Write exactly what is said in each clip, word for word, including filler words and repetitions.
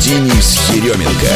Денис Еременко.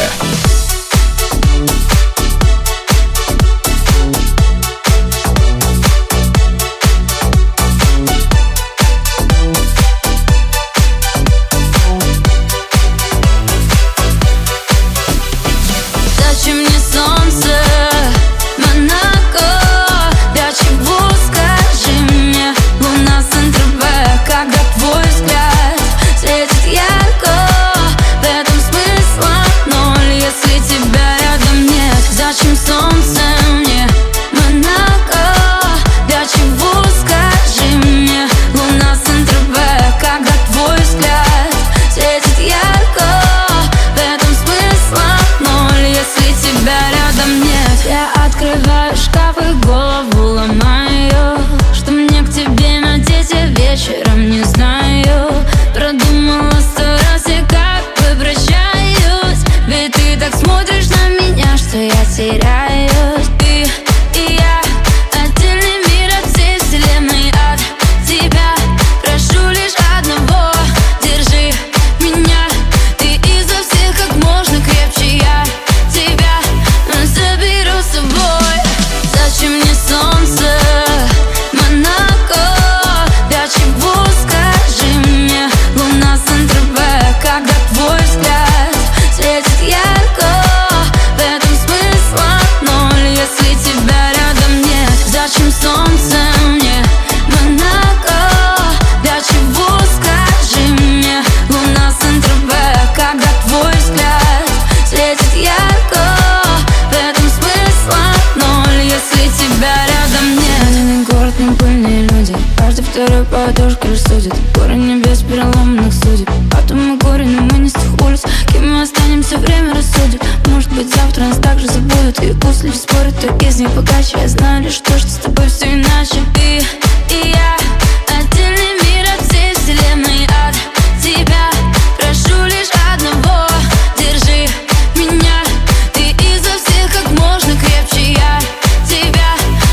Подушка рассудит горы небес переломанных судеб. Потом мы горе, но мы не с тех улиц. Кем мы останемся, время рассудит. Может быть, завтра нас также забудут. И пусть люди спорят, кто из них богаче. Я знаю лишь то, что с тобой все иначе. Ты и я отдельный мир от всей вселенной. От тебя прошу лишь одного: держи меня. Ты изо всех как можно крепче. Я тебя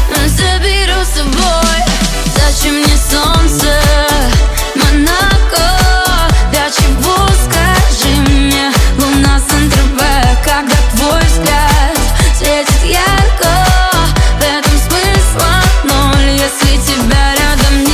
заберу с собой. Зачем мне солнце, Монако? Для чего, скажи мне, луна Сан-Тропе? Когда твой взгляд светит ярко, в этом смысла ноль, если тебя рядом нет.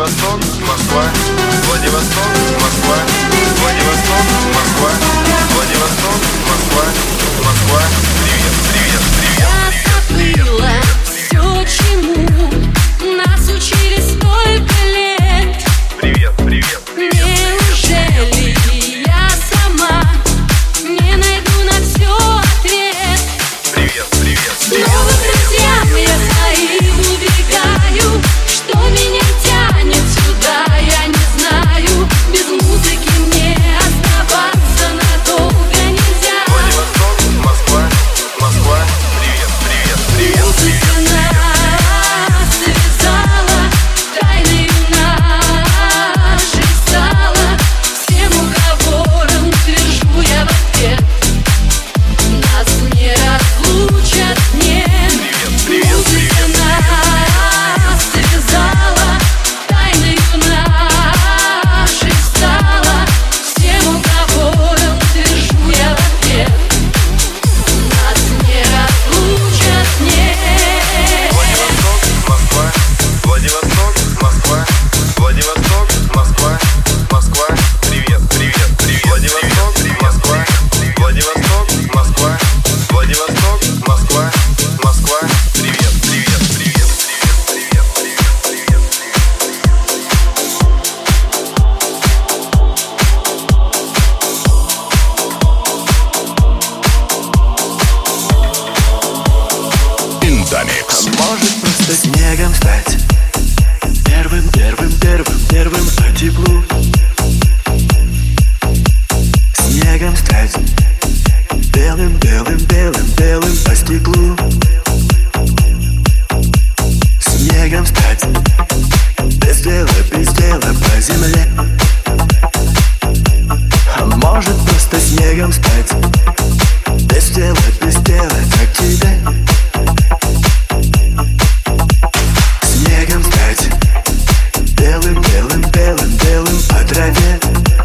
Владивосток, Москва, Владивосток, Москва, Владивосток, Москва, Владивосток, Москва, Москва, привет, привет, привет. Я забыла все, чему нас учили столько лет. Привет, привет, привет. Неужели я сама не найду на все ответ? Привет, привет, привет. Снова к друзьям я своим убегаю. Что меня тянет сюда, я не знаю. Без музыки мне оставаться надолго нельзя. Владивосток, Москва, Москва, привет, привет, привет. Музыка нас связала, тайною нашей стала. Всем уговором твержу я в ответ. Нас не разлучат, нет. Музыка нас связала, тайною нашей стала. Всем уговором твержу я в ответ. Нас не разлучат, нет. Владивосток, Москва, Владивосток, Москва, Владивосток, Москва, Москва, привет, привет, привет. Владивосток, Москва, Владивосток, Москва, Владивосток, Москва, Москва, привет, привет, привет, привет, привет, привет, Индомикс. Может просто снегом стать первым, первым, первым, первым по теплу. Снегом стать белым, белым, белым, белым по стеклу. Снегом стать без дела, без дела по земле. А может просто снегом стать без дела, без дела, как тебе. Снегом стать белым, белым, белым, белым по траве.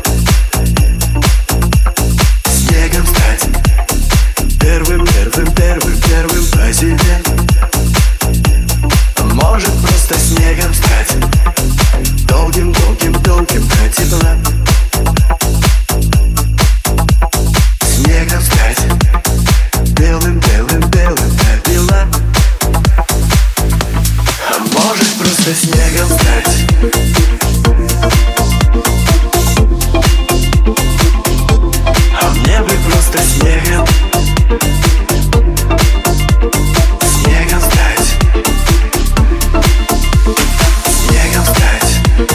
Снегом стать первым, первым, первым, первым по земле. А может просто снегом стать долгим, долгим, долгим до тепла. Снегом стать белым, белым, белым до бела. А может просто снегом стать а мне бы просто снегом. Снегом стать. Снегом стать.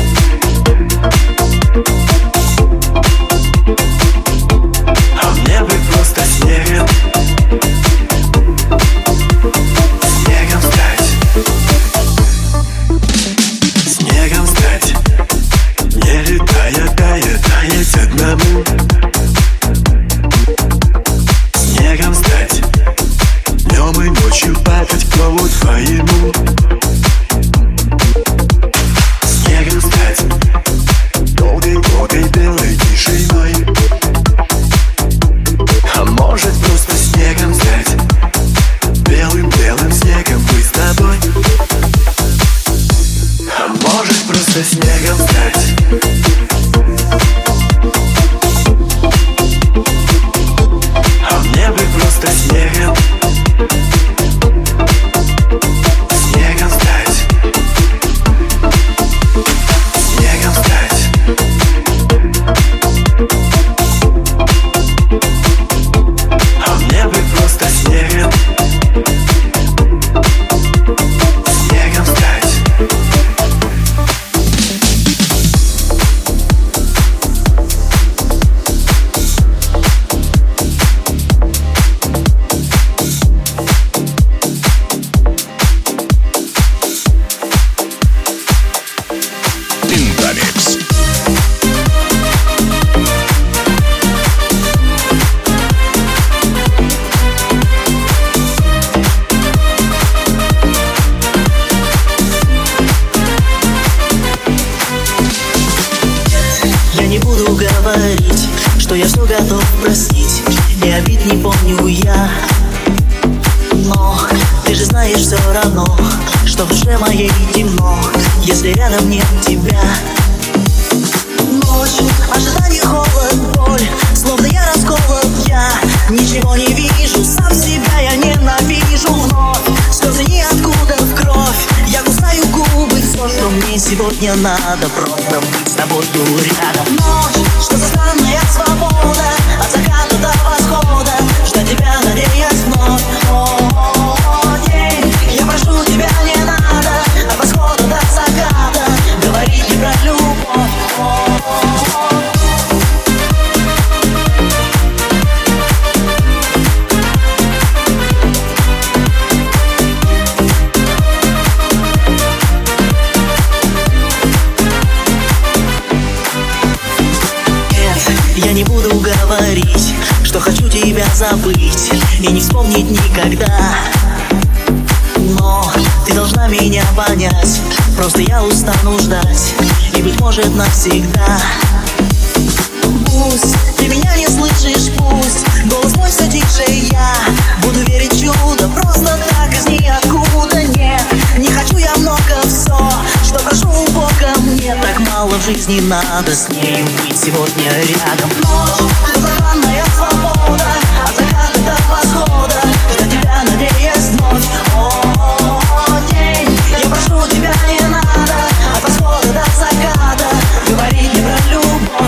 А мне бы просто снегом. Снегом стать. Снегом стать. Не летая, тая, таять одному. Снегом стать. Днем и ночью падать к нову твоему. Снегом стать. Долгой-долгой белой тишиной. А может просто снегом стать белым-белым снегом мы с тобой. А может просто снегом стать а мне бы просто снегом. Снегом стать. Снегом стать. А мне бы просто снегом. Снегом стать. Индомикс. Я не буду говорить, что я все готов простить. И обид не помню я. Но ты же знаешь, знаешь все равно, что в душе моей темно, если рядом нет тебя. Ночь, ожидание, холод, боль, словно я расколот, я ничего не вижу, сам себя я ненавижу вновь. Слезы ниоткуда в кровь, я кусаю губы. Все, что мне сегодня надо, просто быть с тобою рядом. Ночь, что за странная свобода, от заката до восхода, ждать тебя, надеясь вновь. О, день, я прошу тебя, не надо, от восхода до заката говорить не про любовь. Я не буду говорить, что хочу тебя забыть и не вспомнить никогда. Но ты должна меня понять, просто я устану ждать, и быть может навсегда. Пусть ты меня не слышишь, пусть голос мой все тише, я буду верить в чудо, просто так из ниоткуда. Нет, не хочу я много, все, что прошу у Бога, мне так мало в жизни надо с нею быть сегодня рядом. Ночь, желанная свобода, от заката до восхода, ждать тебя, надеясь вновь. О, день, я прошу тебя, не надо, от восхода до заката говорить не про любовь.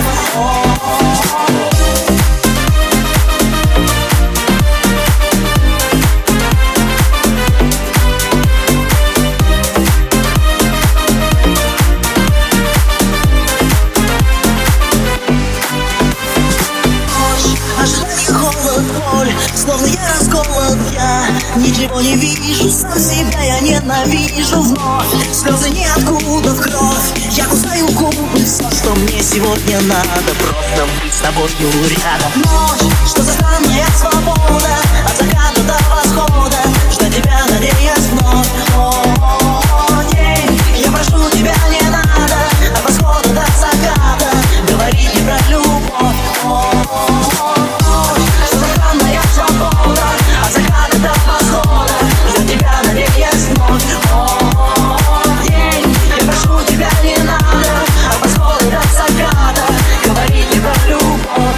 Словно я расколот, я ничего не вижу, сам себя я ненавижу вновь. Слезы ниоткуда в кровь, я кусаю губы. Все, что мне сегодня надо, просто быть с тобою рядом. Ночь, что за странная свобода, от заката до восхода, ждать тебя, надеясь вновь. О, день, я прошу тебя, не надо, от восхода до заката говорить не про любовь. От заката до восхода, ждать тебя, надеясь вновь. О, день, я прошу тебя, не надо, от восхода до заката говорить не про любовь.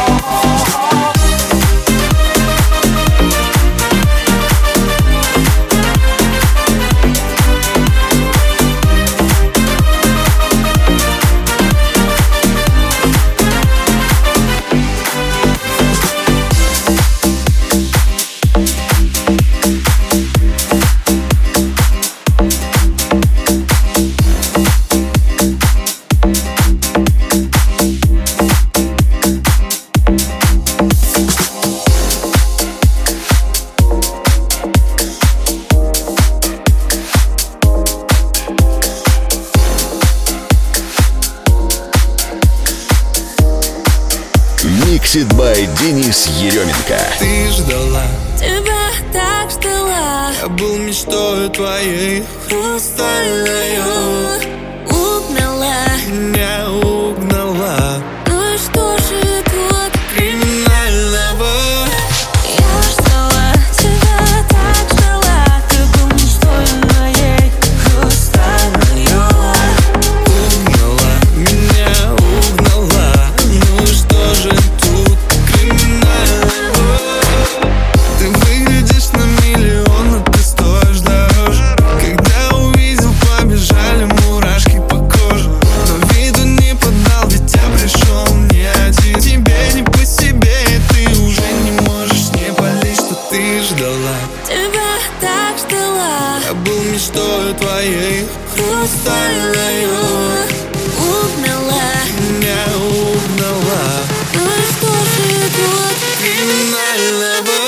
Mixed by Денис Еременко. Ты ждала, Тебя так ждала, я был мечтой твоей, хрустальную угнала. меня угнала. Ну и что же тут Криминального я ждала, тебя так ждала, ты был мечтой моей, хрустальную угнала, меня угнала. Ну и что же тут криминального? Ты выглядишь на миллион, а ты стоишь дороже. Когда увидел, побежали мурашки по коже. Но виду не подал, ведь я пришел не один. Тебе не по себе, и ты уже не можешь не палить, что ты ждала. тебя так ждала, Я был мечтой твоей, хрустальную угнала. меня угнала. Ну и что же тут Криминального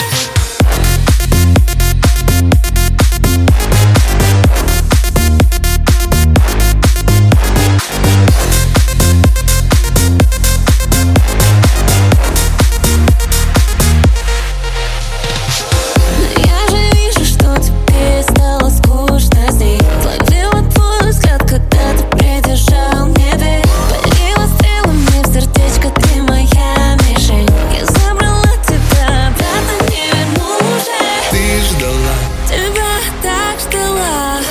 я же вижу, что тебе стало скучно с ней. Словила твой взгляд, когда ты придержал мне дверь. Полила стрелами в сердечко, ты моя мишень. Я забрала тебя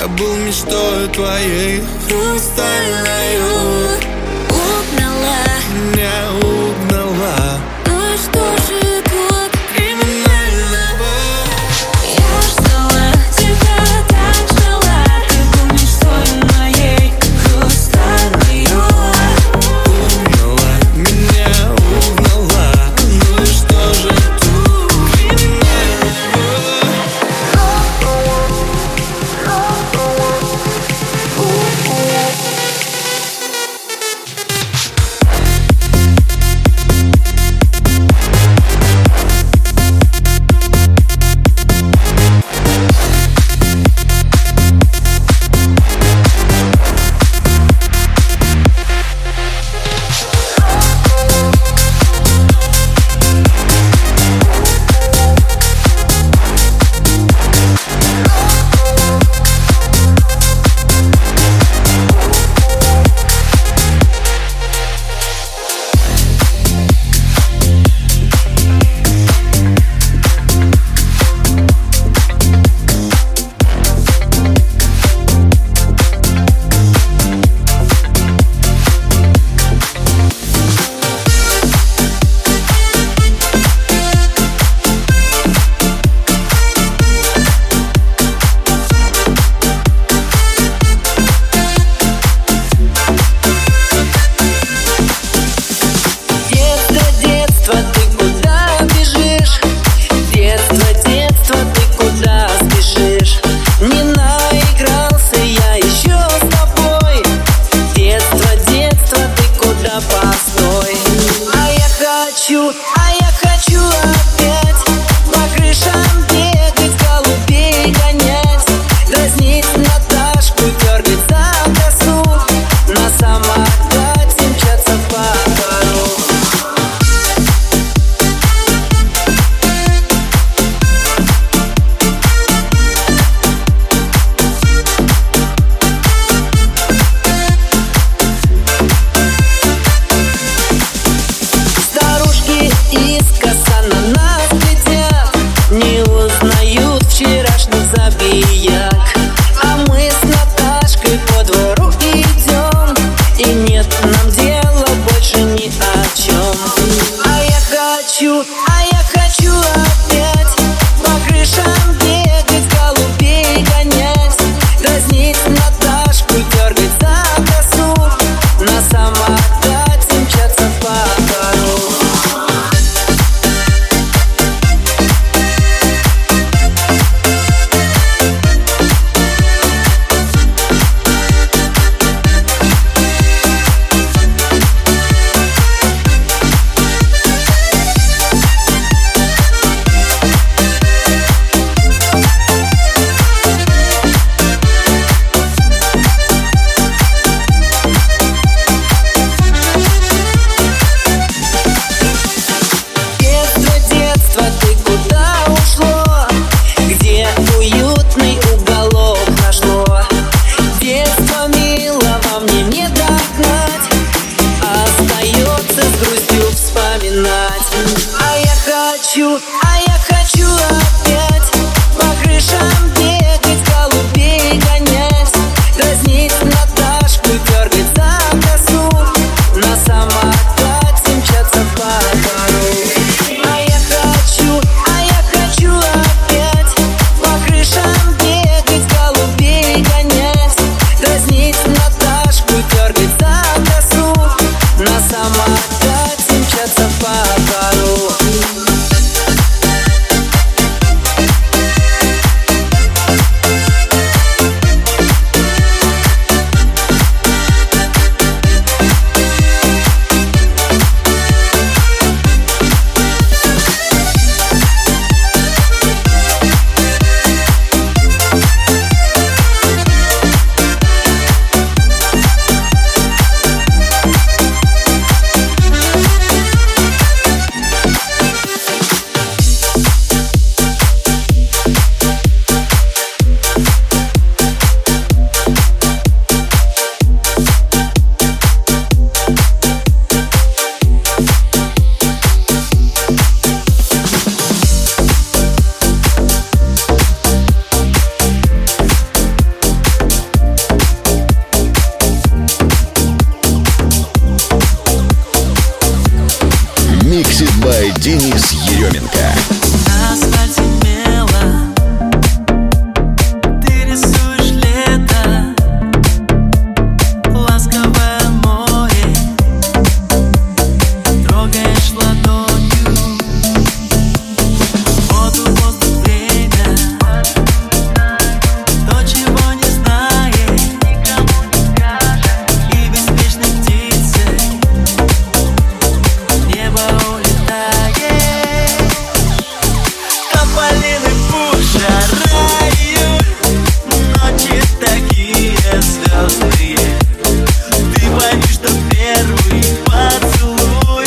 Я был мечтой твоей хрустальною. Угнала, Меня угнала. ну что же тут Криминального. я ждала тебя, так ждала. Ты был мечтой моей хрустальною. Угнала, меня угнала. Ну и что же тут криминального? Денис Еременко. На асфальте мело ты рисуешь лето, ласковое море трогаешь ладонью, воду, воздух, время, то, чего не знаешь, никому не скажешь, и беспечной птицей в небо улетаешь. Тополиный пух, жара, июль, ночи такие звездные. Ты пойми, что первый поцелуй,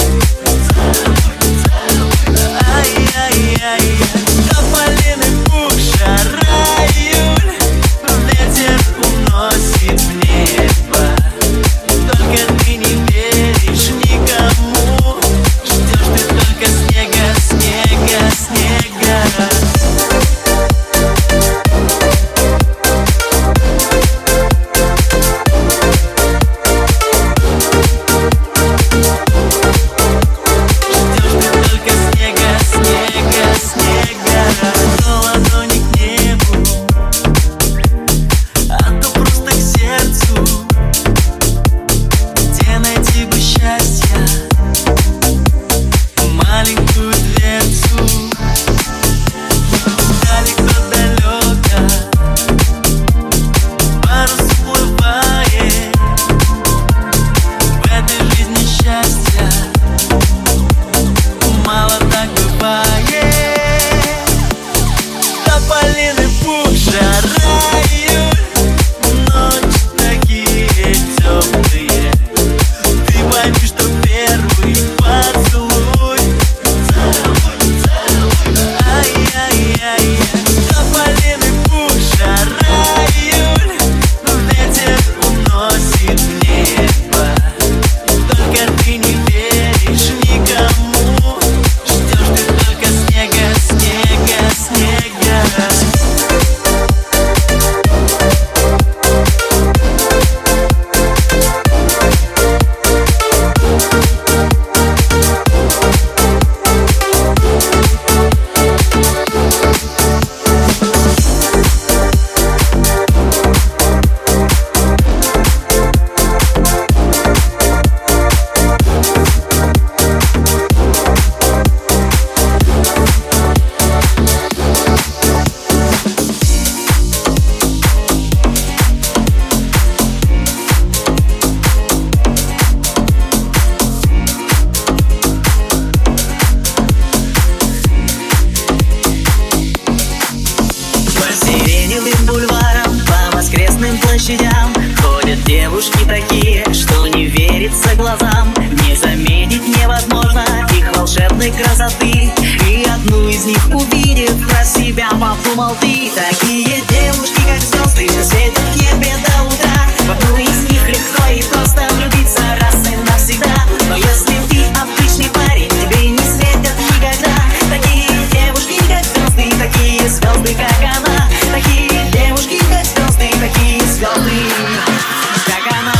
ай-яй-яй. Тополиный пух, жара, июль, ветер уносит в небо. Только ты не веришь никому, ждешь ты только снега, снега, снега. Ждешь ты только снега, снега, снега. То ладони к небу, а то просто к сердцу. Где найти бы счастья, маленькую дверцу. Далеко-далеко парус уплывает. В этой жизни счастья мало так бывает. Тополиный пух, жара, июль, ночи такие теплые. Ты пойми, что первый поцелуй, ай-яй-яй. Тополиный пух, жара, июль, ветер уносит в небо. Только ты не веришь никому, ждешь ты только снега, снега, снега. По сиреневым бульварам, по воскресным площадям ходят девушки такие, что не верится глазам. Не заметить невозможно их волшебной красоты, и одну из них увидев, про себя подумал ты. Такие девушки, как звезды, что светят в небе до утра. В одну из них легко и просто влюбиться раз и навсегда. Но если ты обычный парень, тебе не светят никогда. Такие девушки, как звезды, такие звезды, как она. Такие девушки, как звезды, такие звезды, как она.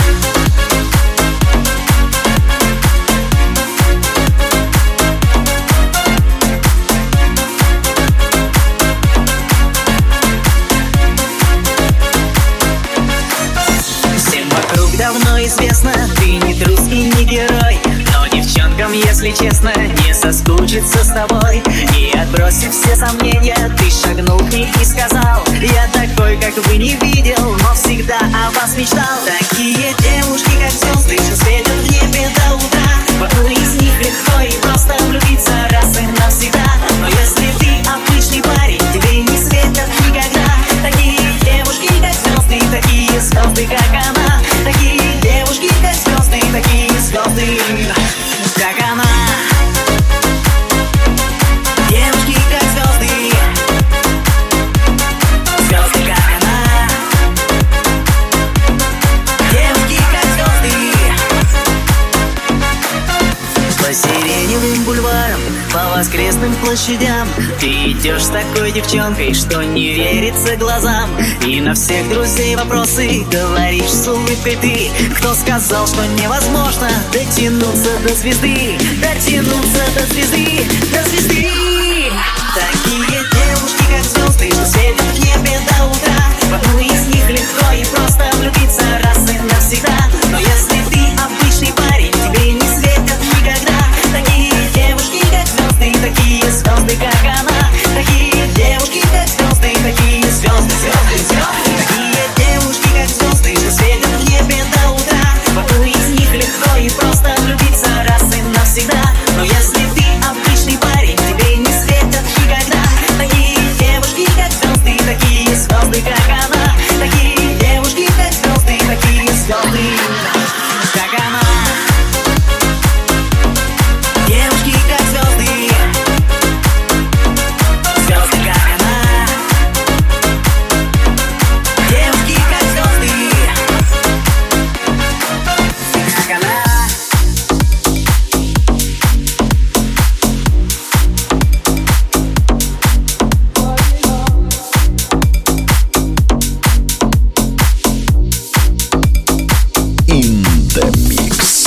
Всем вокруг давно известно, ты не трус и не герой. Но девчонкам, если честно, не соскучиться с тобой. И отбросив все сомнения, ты шагнул к ней и сказал: я такой, как вы, не видел, но всегда о вас мечтал. Такие девушки, как звезды, что светят в небе до утра. В одну из них легко и просто влюбиться раз и навсегда. Но если ты обычный парень, тебе не светят никогда. Такие девушки, как звезды, такие звезды, как она. Такие девушки, как звезды, такие звезды, как она. Девушки, как звезды, звезды, как она. площадям. Ты идешь с такой девчонкой, что не верится глазам. И на всех друзей вопросы говоришь с улыбкой ты. Кто сказал, что невозможно дотянуться до звезды? Дотянуться до звезды, до звезды. Такие девушки, как звезды, что светят в небе до утра. В одну из них легко и просто влюбиться раз и навсегда. Но если ты обычный парень, тебе не светят никогда. Такие девушки, как звезды, такие звезды, как она. Такие девушки, как звезды, такие звезды, звезды, звезды. Такие девушки, как звезды, что светят в небе до утра. В одну из них легко и просто влюбиться раз и навсегда. Но если ты обычный парень, тебе не светят никогда. Такие девушки, как звезды, такие звезды, как она. Такие девушки, как звезды, такие звезды, как она. Девушки, как звезды, звезды, как она. Девушки, как звезды, как она. In the mix.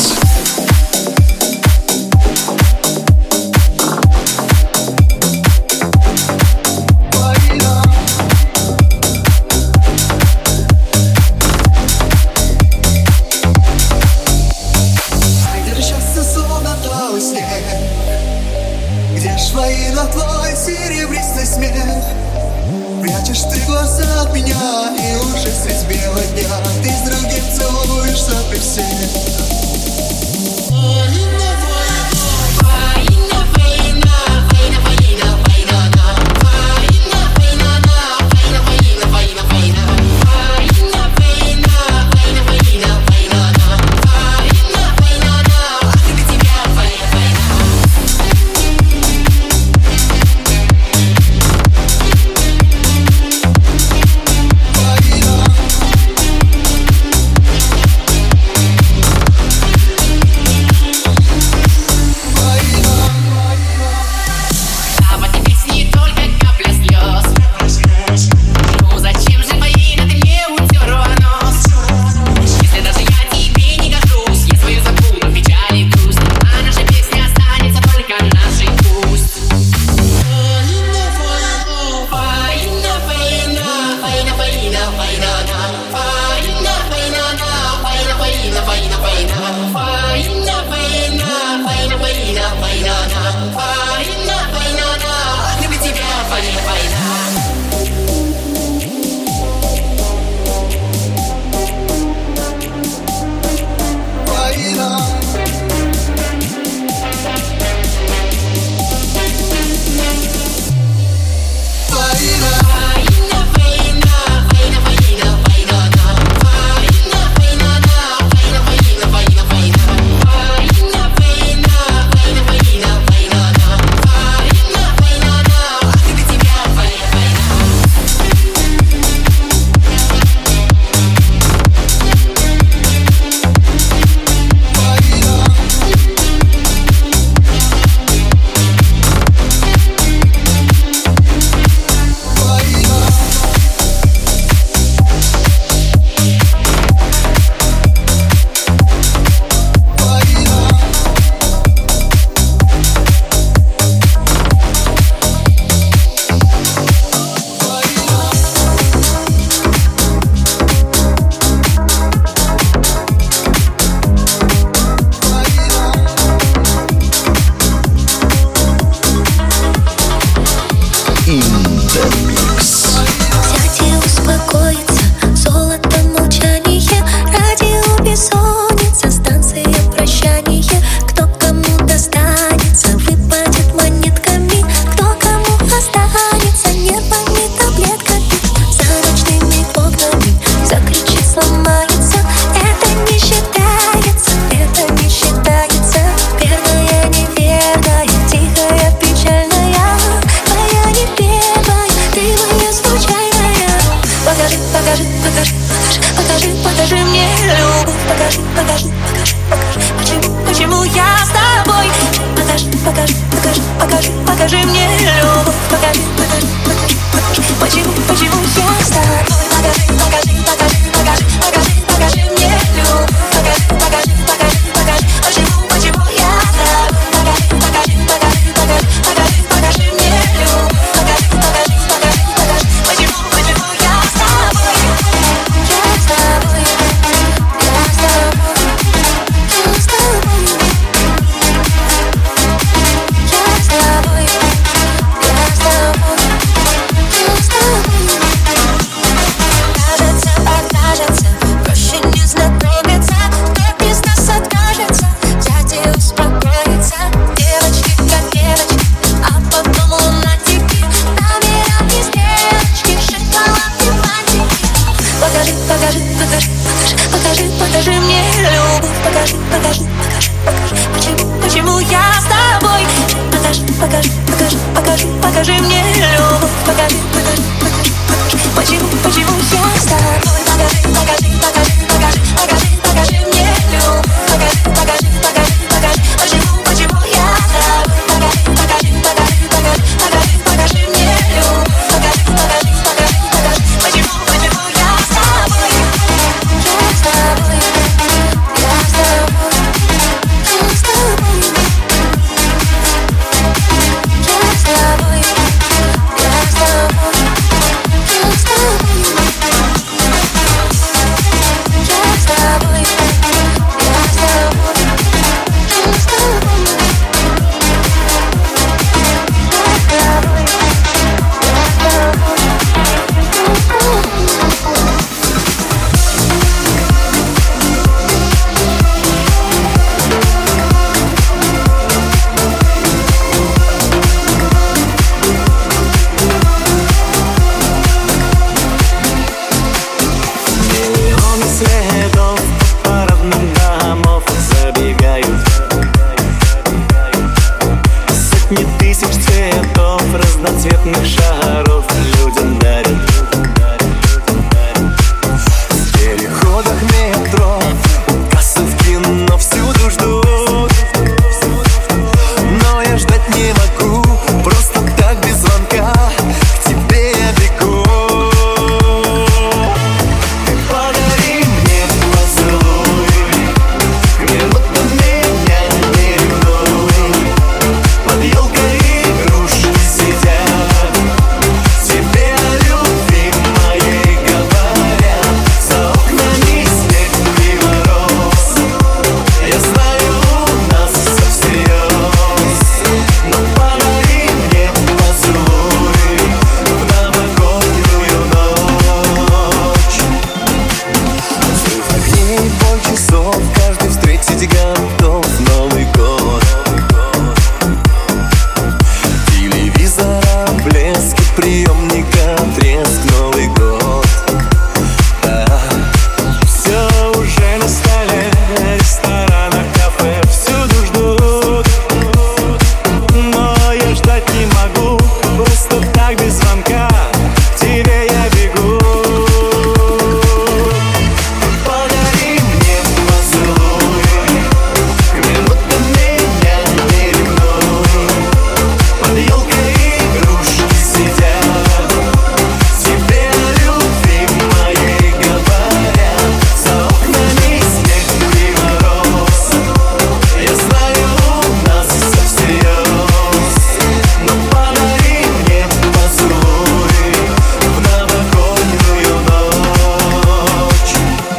Держался словно талый снег. Где ж воина твой серебристый смех? Прячешь ты глаза от меня, и уже средь бела дня ты с другим целуешься при всех. покажи мне покажи, покажи, покажи, покажи мне любовь. Покажи, покажи, покажи, покажи, почему, почему я с тобой. Покажи, покажи, покажи, покажи, покажи, покажи мне любовь. Покажи, покажи, покажи, покажи, почему, почему я с тобой. Покажи, покажи, покажи, покажи, покажи, покажи мне любовь. Покажи, покажи, покажи, покажи, почему, почему я с тобой. Я с тобой, я с тобой, я с тобой. Разноцветных шаров людям дарят. В переходах метро, у кассы в кино всюду ждут. Но я ждать не могу, просто так без звонка к тебе я бегу. Ты подари мне поцелуй, минутно меня не ревнуй. Под елкой игрушки сидят, тебе о любви моей говорят. За окнами снег и мороз, я знаю, у нас все всерьез. Но подари мне поцелуй в новогоднюю ночь. Взрыв огней, бой часов, каждый встретить готов Новый год. Телевизора блеск, приемника треск, Новый год. Да. Все уже на столе, ресторанах, кафе всюду ждут. Но я ждать не могу, просто так без звонка к тебе я бегу. Подари мне поцелуй, минутно меня не ревнуй. Под елкой игрушки сидят, тебе о любви моей говорят. За окнами снег и мороз, я знаю, у нас все всерьез. Но подари мне поцелуй в новогоднюю ночь.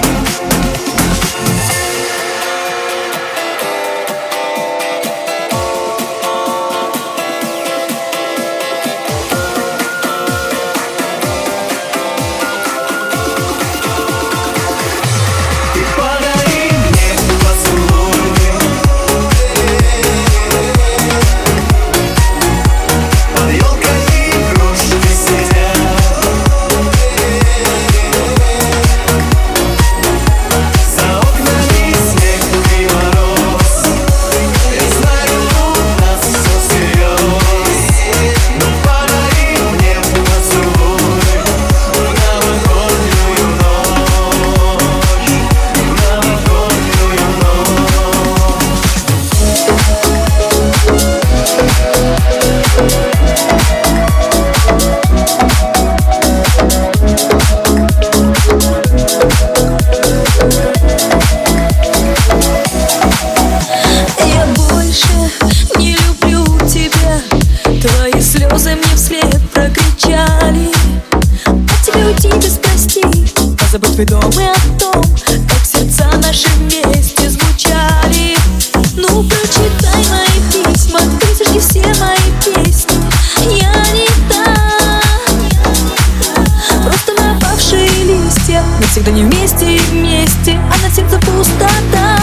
Ты подари мне поцелуй, под елкой игрушки сидят, за окнами снег и мороз, я знаю, у нас все всерьез. Но подари мне поцелуй в новогоднюю ночь, в новогоднюю ночь. Я больше не люблю тебя. Твои слезы мне вслед прокричали. От тебя уйти без прости, позабыть твой дом и о том, как сердца наши вместе звучали. Ну прочитай мои письма, ты сожги все мои песни. Я не та, просто напавшие листья. Мы всегда не вместе и вместе, а на сердце пустота.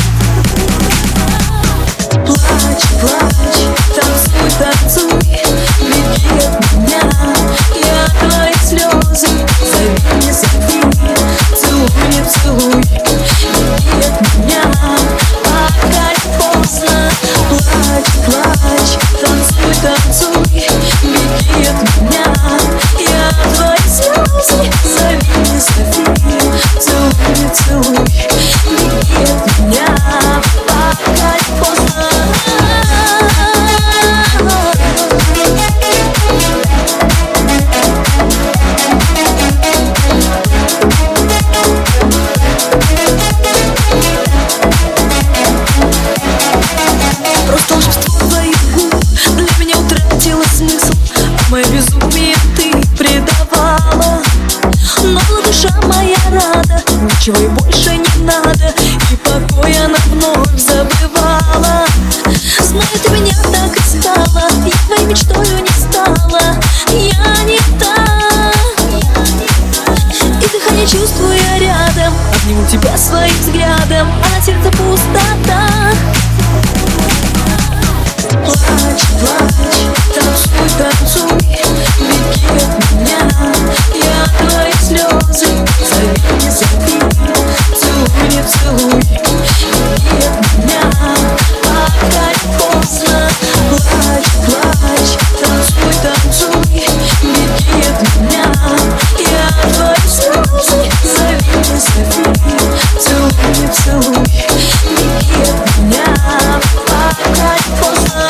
Плачь, плачь, танцуй, танцуй, веди от меня. Я твои слезы, зови, не зови, целуй, не целуй, веди от меня, пока не поздно. Плачь, плачь, танцуй. танцуй, беги от меня. Я твои слезы, зови, не зови. Целуй, целуй, беги от меня, пока не поздно. Просто волшебство твоих губ для меня утратило смысл. Мое безумие ты предавала, но была душа моя рада, ничего и больше не надо, и покой она вновь забывала. Знаю, ты меня так и стала, я твоей мечтою не стала. Я не та, и дыхание чувствую я рядом, обниму тебя своим взглядом, а на сердце пустота. Плачь, плачь, танцуй, танцуй, беги от меня. Я твои слезы, зови, не зови. Целуй, не целуй, беги от меня, пока не поздно. Плачь, плачь, танцуй, танцуй, беги от меня. Я твои слезы, зови, не зови. Целуй, не целуй, беги от меня, пока не поздно.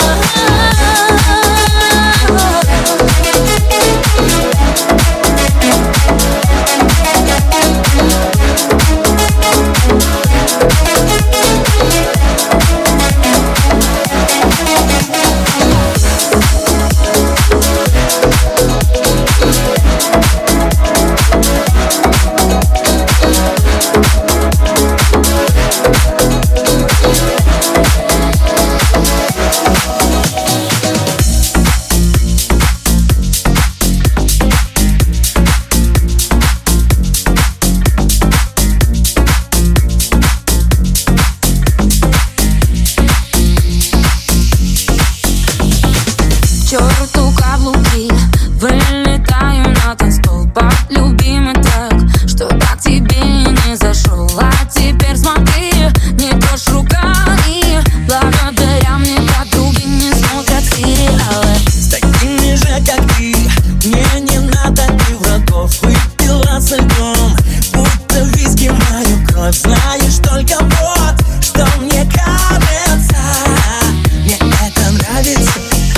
Черту каблуки, вылетаю на танцпол под любимый трек, что так тебе не зашел. А теперь смотри, не трожь руками, благодаря мне подруги не смотрят сериалы. С такими же, как ты, мне не надо и врагов. Выпила со льдом, будто виски мою кровь. Знаешь только вот, что мне кажется, мне это нравится.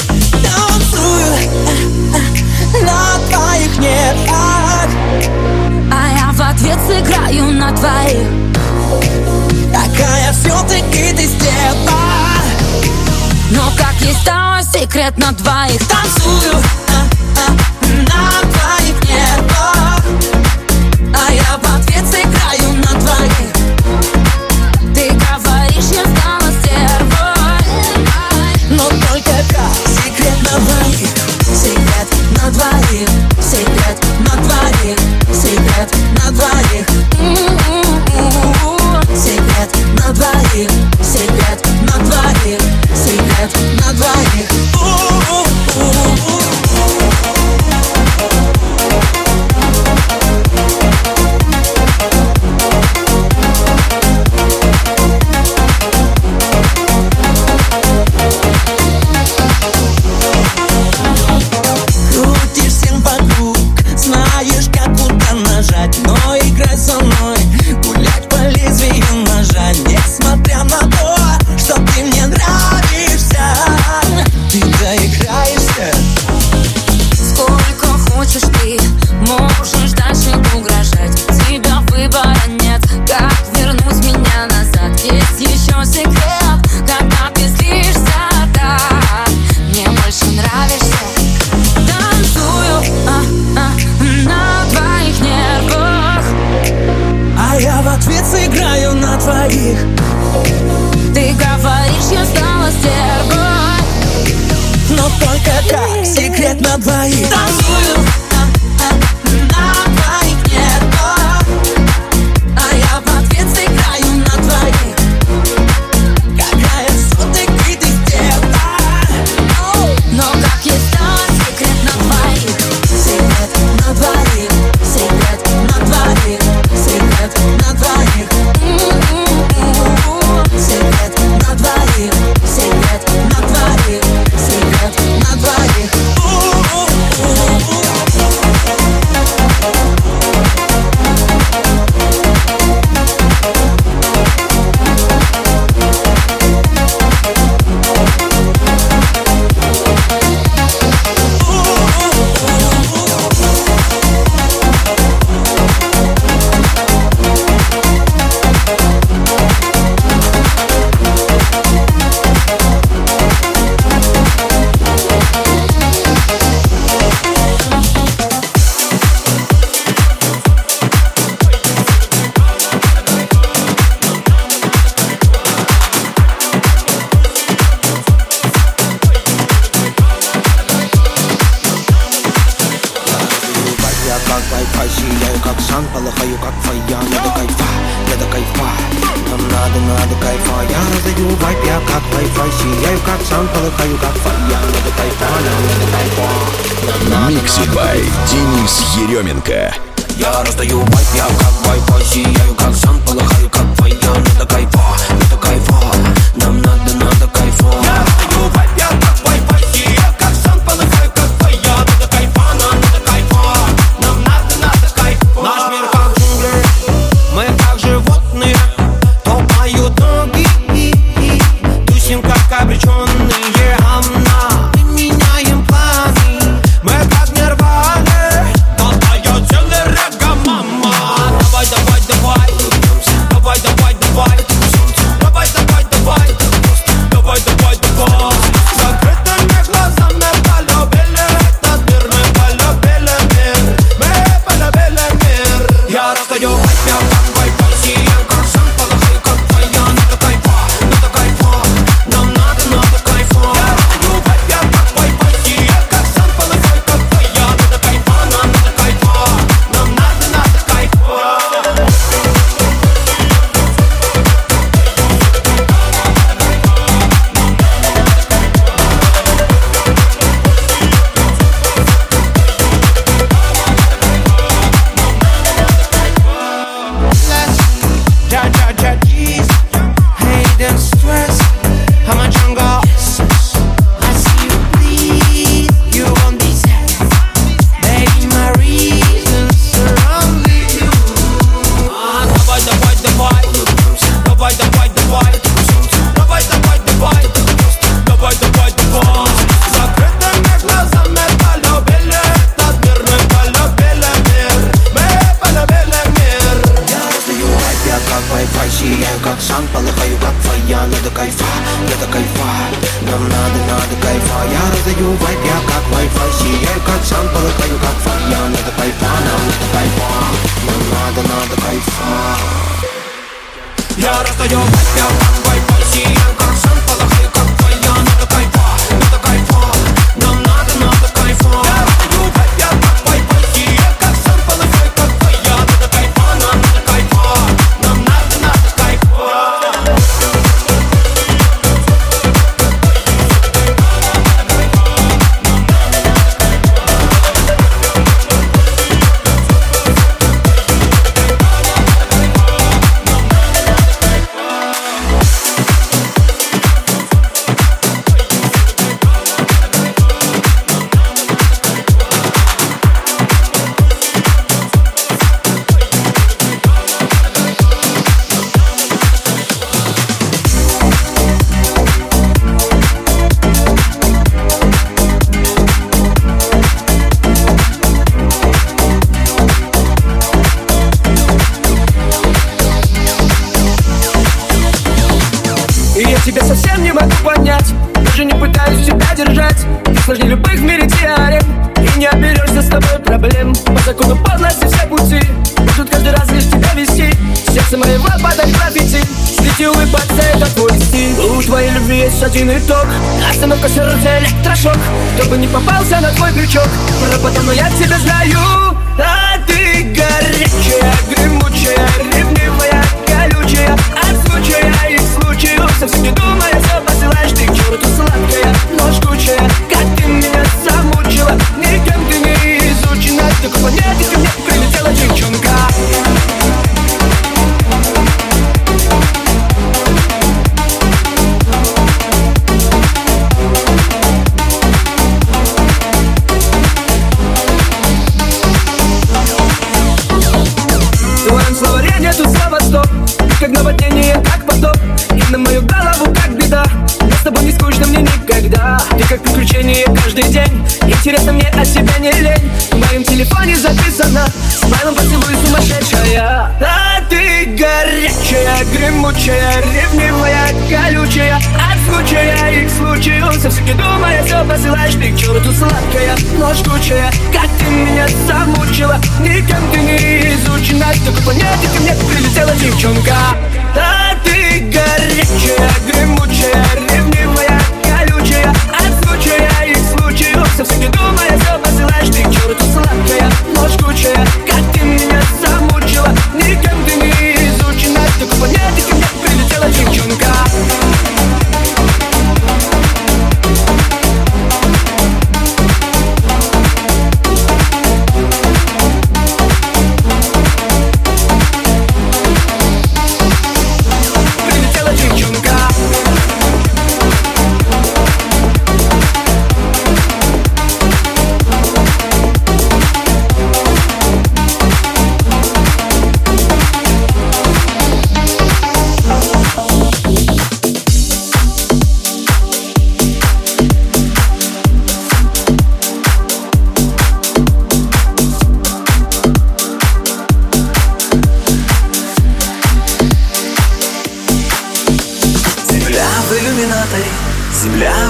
На твоих нервах, А я в ответ сыграю на твоих. такая все-таки ты стерва. Но как есть стало секрет на двоих. Танцую а, а, на твоих нервах, а я в ответ сыграю на твоих. Ты говоришь, я стала стервой, Но только как секрет на двоих. Секрет на двоих, секрет на двоих, секрет на двоих. Секрет на двоих, секрет на двоих, секрет на двоих. Крутишь всем вокруг, знаешь, как куда нажать. Но играй со мной, гулять по лезвию ножа. Несмотря на то, что ты мне нравишься, ты доиграешься. сколько хочешь ты, можешь дальше угрожать. Тебя выбора нет, как вернуть меня назад. Есть еще секрет, когда ты злишься так. Мне больше нравишься. Танцую а, а, на твоих нервах, А я в ответ сыграю на твоих. ты говоришь, я стала стервой. Но только как секрет на двоих. Танцую а, а, на твоих нервах, а я в ответ сыграю на твоих. Какая все-таки ты стерва. Но как есть стала секрет на двоих. Секрет на двоих, секрет на двоих, секрет на двоих. Секрет на двоих, секрет на двоих, секрет на двоих. сияю как сан, полыхаю как фая. Надо кайфа, надо кайфа, нам надо, надо кайфа. Я раздаю вайп, я как Wi-Fi. Сияю как сан, полыхаю как фая. Надо кайфа, нам надо кайфа. Микси бай Денис Еременко. Я раздаю вайп, я как Wi-Fi. Сияю как сан, полыхаю как фая. Надо кайфа, надо кайфа, нам надо, надо кайфа. Я раздаю вайп, я как Wi-Fi. Сияю как сан, полыхаю как фая. Надо кайфа, нам надо кайфа, нам надо, надо кайфа. Наш мир как джунгли, мы как животные, то поют ноги, тусим как обреченные гамна. Мы меняем планы, мы как нирваны, то поет целый река, мама. Давай, давай, давай, давай, давай, давай, давай, давай, давай, давай, давай, давай. Закрытыми глазами полюбили этот мир, мы полюбили мир, мы полюбили мир. Я раздаю вайп, я как Wi-Fi, сияю как сан, полыхаю как фая. Надо кайфа, надо кайфа, нам надо, надо кайфа. Я раздаю вайп, я как Wi-Fi, сияю как сан, полыхаю как фая. Надо кайфа, нам надо кайфа, нам надо, надо кайфа. Ja, ja, ja, jeez. Hate and stress. I'm a jungle. I see you bleed. You won't be sad. Baby, my reasons surround you. Ah, давай, давай, давай. Давай, давай, давай. Давай, давай, давай. Давай, давай, давай. Закрытыми глазами полюбили этот мир. Мы полюбили мир. Мы полюбили мир. Я раздаю вайп, я как Wi-Fi. Сияю как сан, полыхаю как фая. Надо кайфа, надо кайфа, нам надо, надо кайфа. Я раздаю вайп, я как Wi-Fi. Сияю как сан, полыхаю как фая. Надо кайфа, нам надо кайфа, нам надо, надо кайфа. Я раздаю вайп, я как Wi-Fi. Сияю как сан, полыхаю как фая. Надо кайфа, надо кайфа, нам надо, надо кайфа. Я раздаю вайп, я как Wi-Fi. Сияю как сан, полыхаю как фая. Надо кайфа, нам надо кайфа, нам надо, надо кайфа. И я тебя совсем не могу понять, даже не пытаюсь тебя держать. Ты сложнее любых в мире теорем, и не оберешься с тобой проблем. По закону подлости все пути будут каждый раз лишь тебя вести. Сердце моего подай граффити, свети улыбаться, это твой стиль. У твоей любви есть один итог, остановка сердца, электрошок. Кто бы не попался на твой крючок, пропадал, но я тебя знаю. А ты горячая, гремучая, ревнивая, колючая, от случая и к случаю. Совсем не думая, все посылаешь ты к черту, сладкая, но жгучая. Как ты меня замучила, никем ты не изучена. С такой планеты ко мне прилетела девчонка. В твоем словаре нету слова стоп, как наводнение, как потоп, и на мою голову как беда. Но с тобой не скучно мне никогда. Ты как приключение каждый день. Интересно мне о себе не лень. В моем телефоне записано смайлом поцелуй сумасшедшая. А ты горячая, гремучая, ревнивая, колючая, от случая и к случаю. Совсем не думая, все посылаешь ты к черту, сладкая, но жгучая. Как ты меня замучила, никем ты не изучена. С такой планеты ко мне прилетела девчонка. А ты горячая, гремучая, ревнивая, колючая, от случая и к случаю. Совсем не думая, все посылаешь ты к черту, сладкая, но жгучая. Как ты меня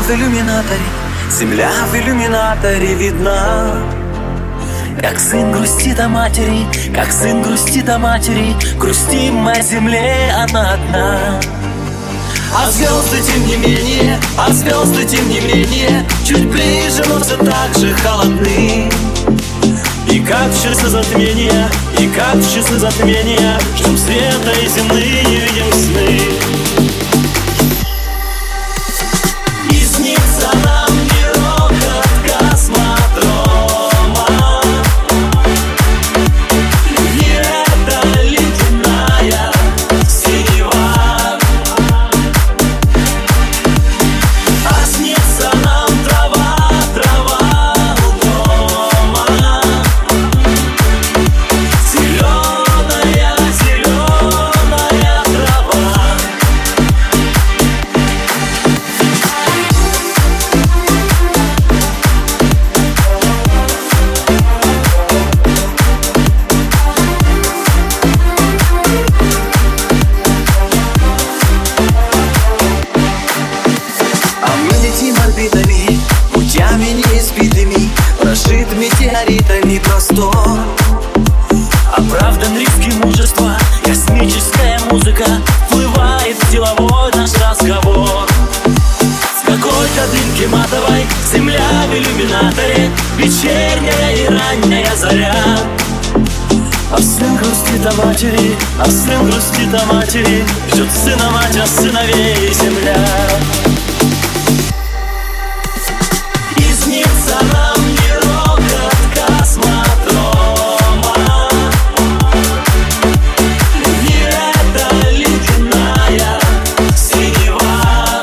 в иллюминаторе, земля в иллюминаторе видна. Как сын грустит о матери, как сын грустит о матери, грустим мы о земле, она одна. А звезды тем не менее, а звезды тем не менее, чуть ближе, но все так же холодны. И как в часы затмения, и как в часы затмения, ждем света и земные видим сны. И снится нам не рокот космодрома, не эта ледяная синева, а снится нам трава, трава у дома, зеленая, зеленая трава. А мы летим орбитами, путями неиспитыми, прошит метеоритами простор. Оправдан риски мужества, космическая музыка вплывает в деловой наш разговор. В какой-то дымке матовой земля в иллюминаторе, вечерняя и ранняя заря. А сын грустит о матери, а сын грустит о матери, ждет сына мать, а сыновей земля. И снится нам не рокот космодрома, не эта ледяная синева,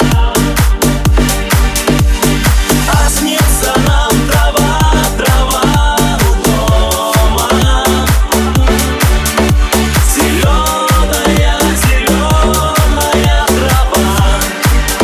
а снится нам трава, трава у дома, зеленая, зеленая трава.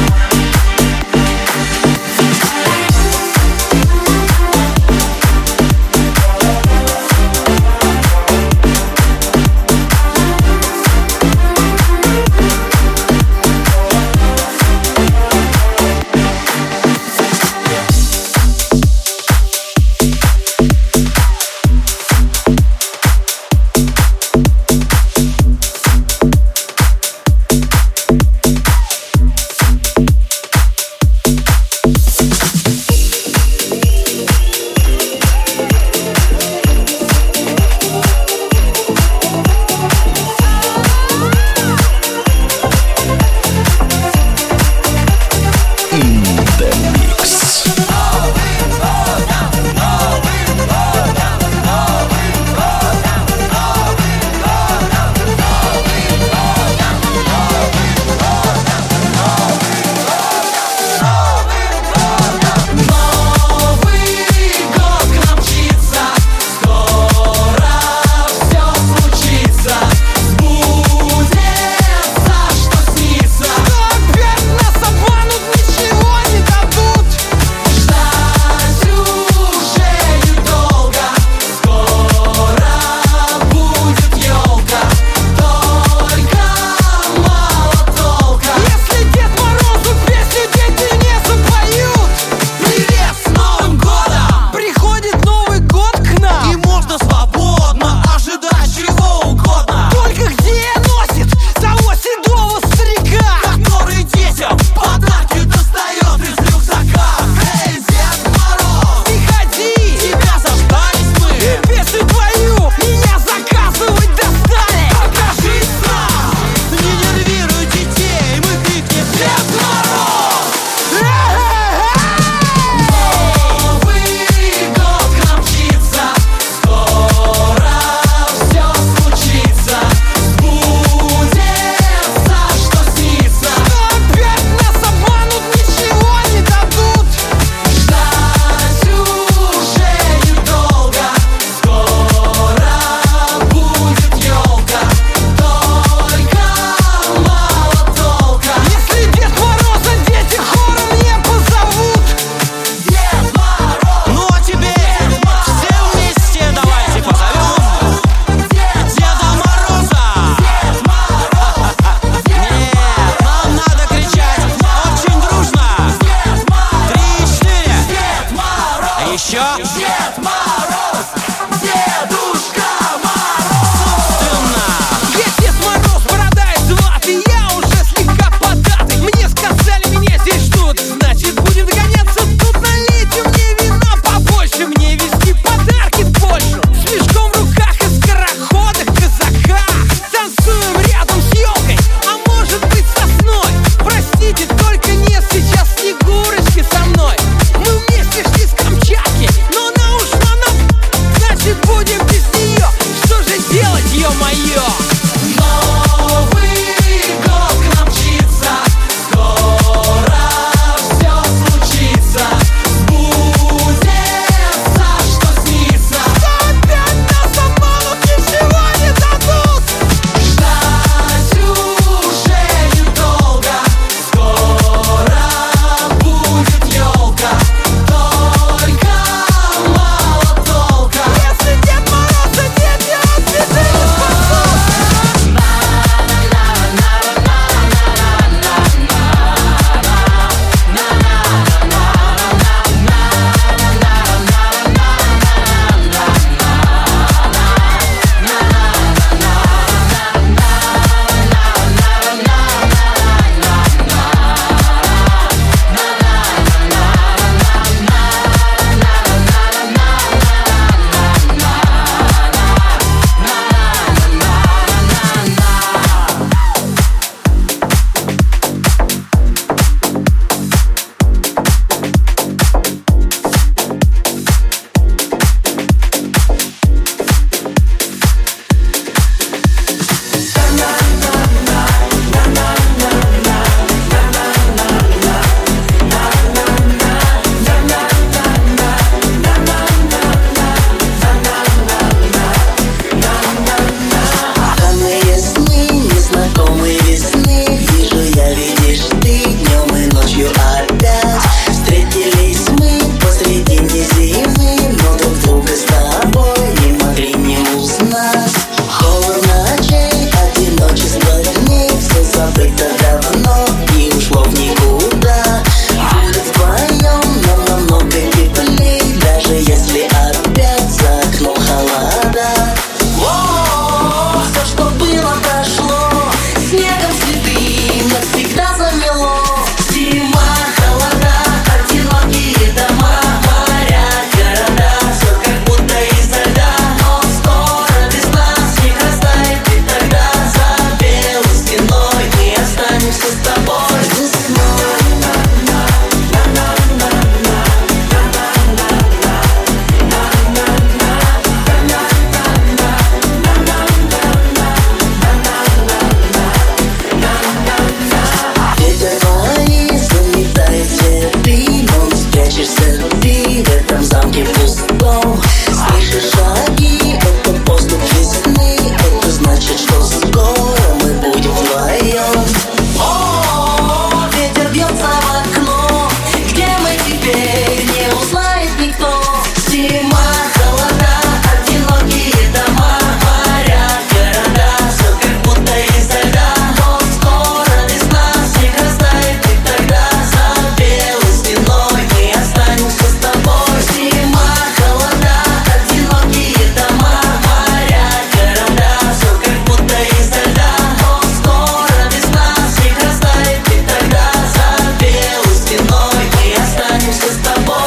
весна. Холодно ночей, одиночество границы, забыто давно и ушло в никуда. Будет вдвоем нам намного теплей, даже если опять за окном холода. О, все, что было, прошло, снегом следы навсегда замело. Зима, холода, одинокие дома, моря, города, все как будто изо льда. Но скоро весна, снег растает, и тогда за белой стеной мы останемся с тобой. Весной. Ветер твои заметает цветы, но спрячешься ты в этом замке пустом. Слышишь шаги, это поступ весны, это значит, что скоро мы будем вдвоем. О, ветер бьется в окно, где мы теперь не узнает никто. Зима, холода, одинокие дома, моря, города, все как будто изо льда. Но скоро весна, снег растает, и тогда за белой стеной мы останемся с тобой. Зима, холода, одинокие дома, моря, города, все как будто изо льда. Но скоро весна, снег растает, и тогда за белой стеной мы останемся с тобой.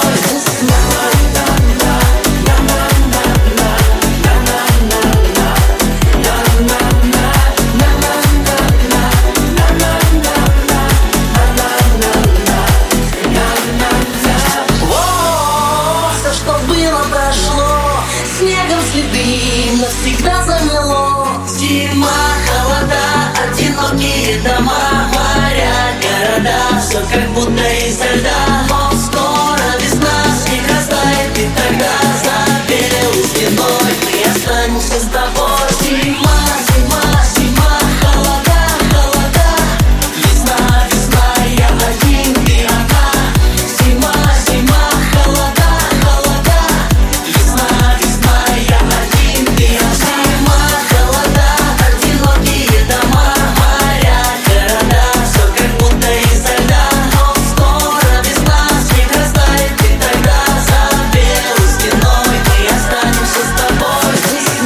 О, все, что было, прошло, снегом следы навсегда замело. Зима, холода, одинокие дома, моря, города, все как будто изо льда. Но скоро весна, снег растает, и тогда за белой стеной мы останемся с тобой. Зима, зима, зима, холода, холода, весна, весна, я один, ты одна. Зима, зима, холода, холода, весна, весна, я один, ты одна. Зима, холода, одинокие дома, моря, города, все как будто изо льда. Но скоро весна, снег растает, и тогда за белой стеной мы останемся с тобой.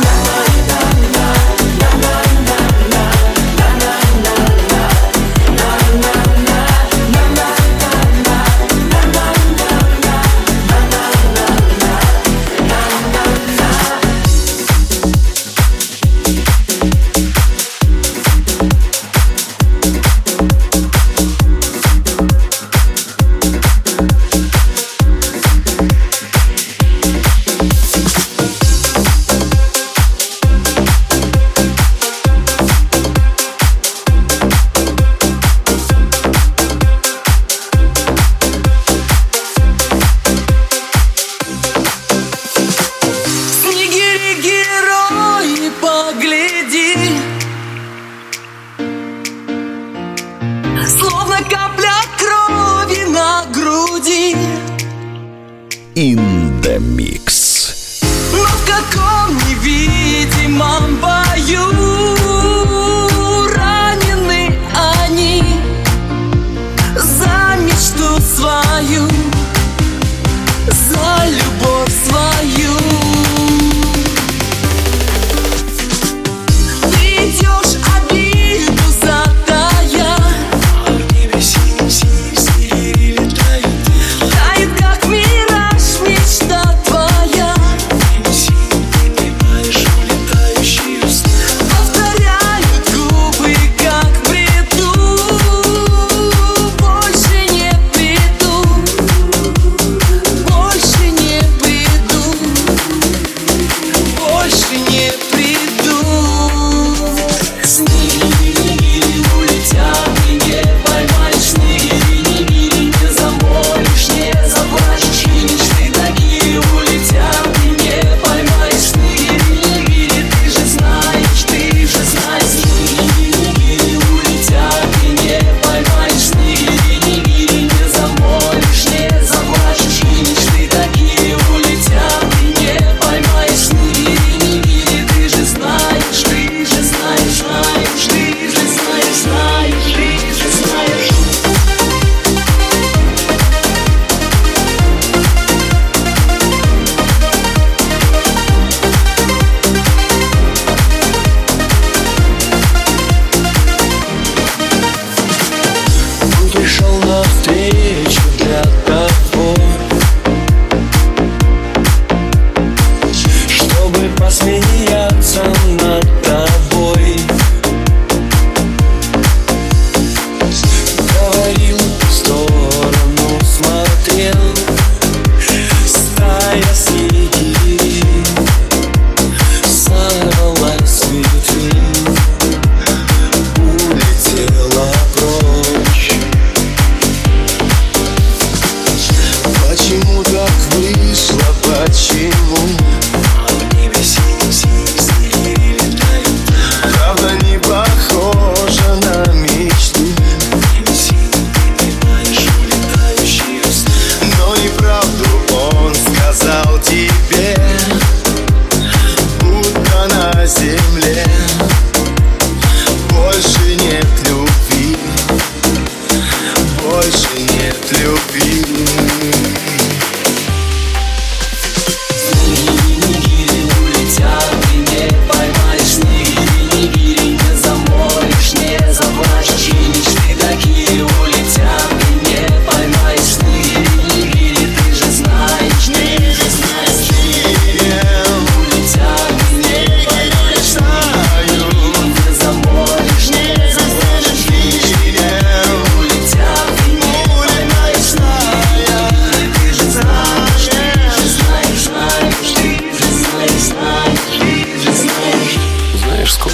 Снегири, герои, погляди, словно капля крови на груди. In the Mix. Но в каком невидимом бою ранены они за мечту свою, за любовь свою. Ты идешь обиду затая, тает, как мираж, мечта твоя.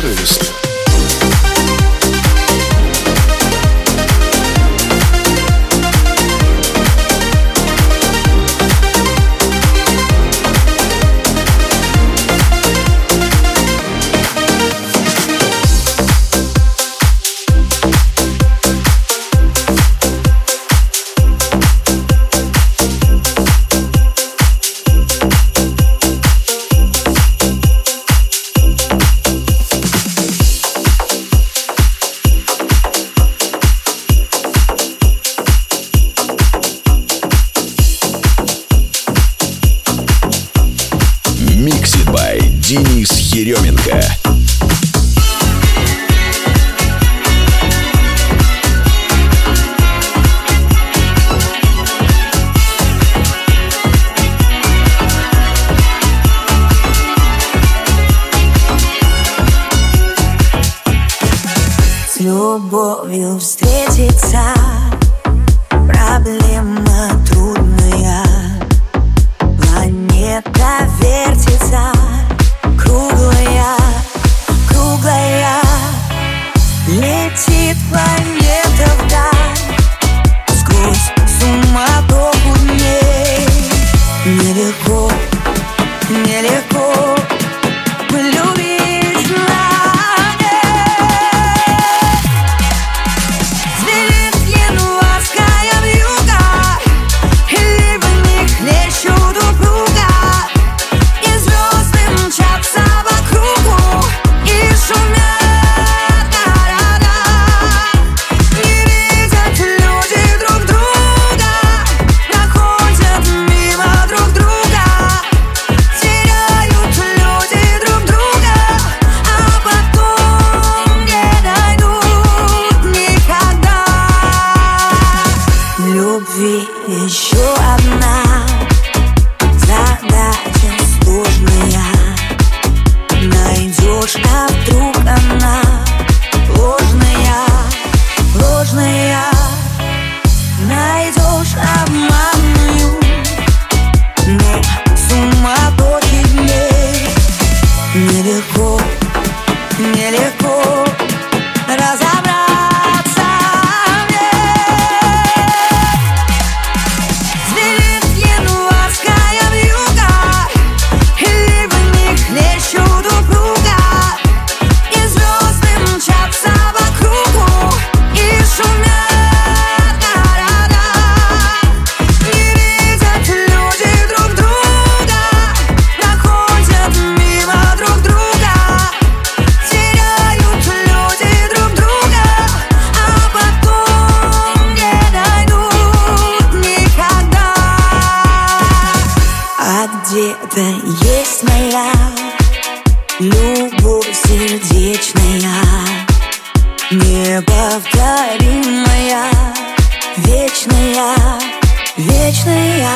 доброй весны. Mixed by Денис Еременко. С любовью встретиться, проблема трудная. Планета вертится, круглая, круглая. Летит планета вдаль, сквозь суматоху дней. Нелегко, нелегко полюбить знание. Звенит январская вьюга, и ливы не хлещут упруга, и звезды мчатся по кругу и шумят города. Не видят люди друг друга, проходят мимо друг друга, теряют люди друг друга, а потом не найдут никогда. Любви еще одна задача сложная. Найдешь, а вдруг она ложная, ложная. Найдешь обманную, но суматохи дней. Нелегко, нелегко разобраться в ней. Звенит январская вьюга, и ливы не хлещут упруга, и звезды мчатся по кругу и шумят города. Не видят люди друг друга, проходят мимо друг друга, теряют люди друг друга, а потом не найдут никогда. А где-то есть моя любовь сердечная, неповторимая, вечная, вечная.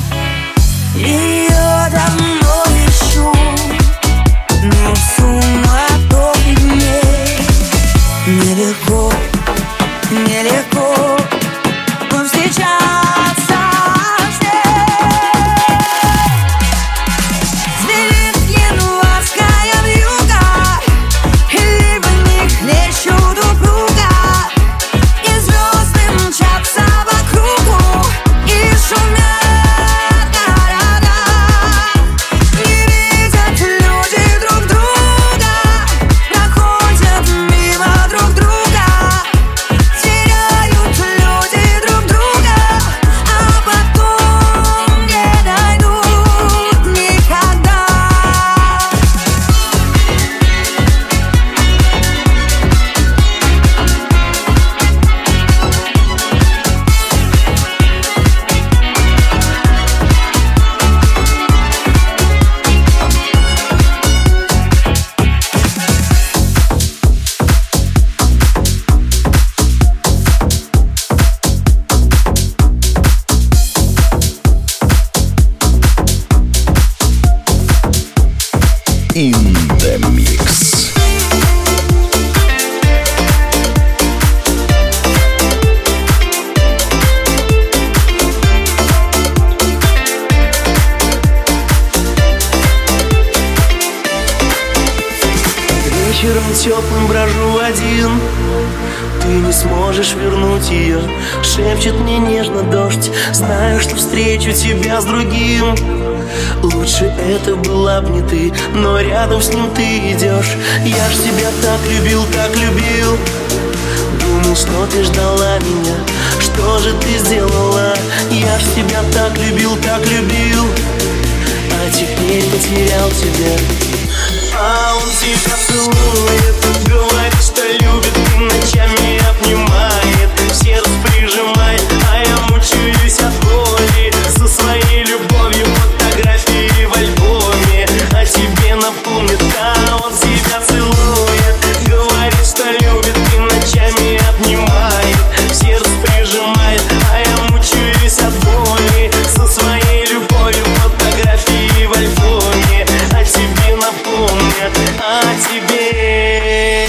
Ее давно ищу, но в суматохе дней. Нелегко, нелегко повстречаться с ней. Звенит январская вьюга, и ливы не хлещут упруга, и звезды Вечером теплым брожу один. Ты не сможешь вернуть ее. Шепчет мне нежно дождь. Знаю, что встречу тебя с другим. Лучше это была б не ты, но рядом с ним ты идешь. Я ж тебя так любил, так любил. Думал, что ты ждала меня. Что же ты сделала? Я ж тебя так любил, так любил. А теперь потерял тебя. А он тебя целует, говорит, что любит, и ночами обнимает, сердце прижимает, а я мучаюсь от боли. Со своей любовью фотографии в альбоме о тебе напомнит. А он тебя целует, говорит, что любит, и ночами обнимает, сердце прижимает, а я мучаюсь от боли. Со своей любовью фотографии в альбоме о тебе напомнят, о тебе.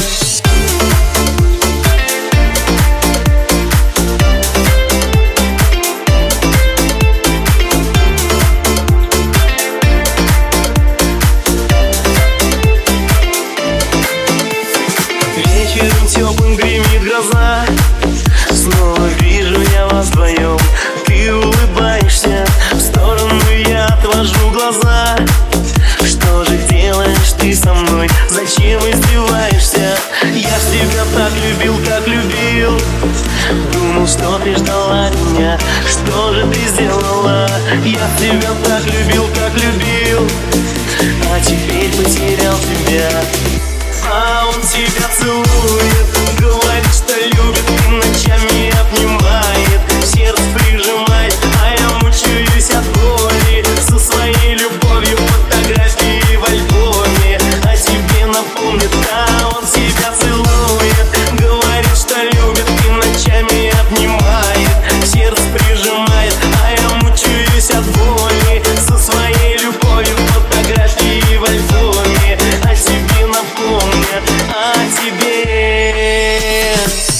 Вечером теплым гремит гроза. Снова вижу я вас вдвоем. Ты улыбаешься, в сторону я отвожу глаза. Что же делаешь ты со мной? Зачем издеваешься? Я ж тебя так любил, так любил. Думал, что ты ждала меня. Что же ты сделала? Я тебя так любил, так любил. А теперь потерял тебя. А он тебя целует, говорит, что любит, и ночами обнимает, сердце прижимает, а я мучаюсь от боли. Со своей любовью фотографии в альбоме о тебе напомнит. А он тебя целует, говорит, что любит, и ночами обнимает, сердце прижимает, а я мучаюсь от боли. Со своей любовью фотографии в альбоме о тебе напомнят, о тебе.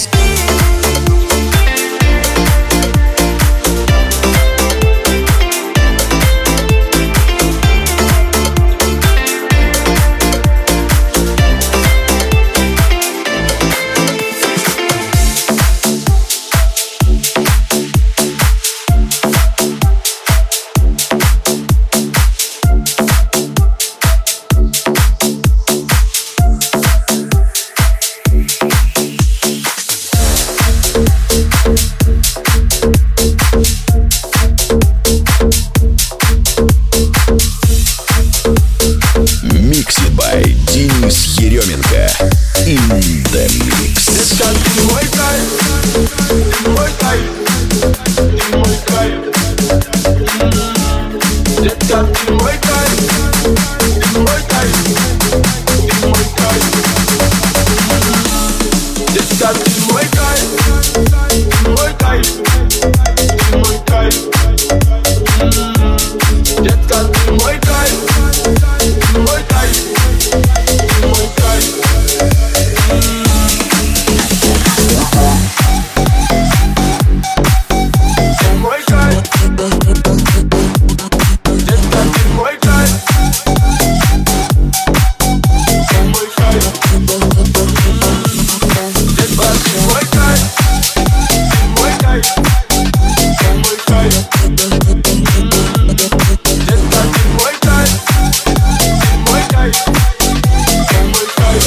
Mixed by Денис Еременко. In the mix. Детка, ты мой кайф, ты мой кайф, ты мой кайф. Детка, ты мой кайф, ты мой кайф, ты мой кайф. Детка, ты мой кайф, ты мой кайф, ты мой кайф. Детка, ты мой кайф, ты мой кайф, ты мой кайф. Мой кайф, детка, ты мой кайф, мой кайф, детка, ты мой кайф, мой кайф, мой кайф, детка, ты мой кайф, мой кайф, мой кайф.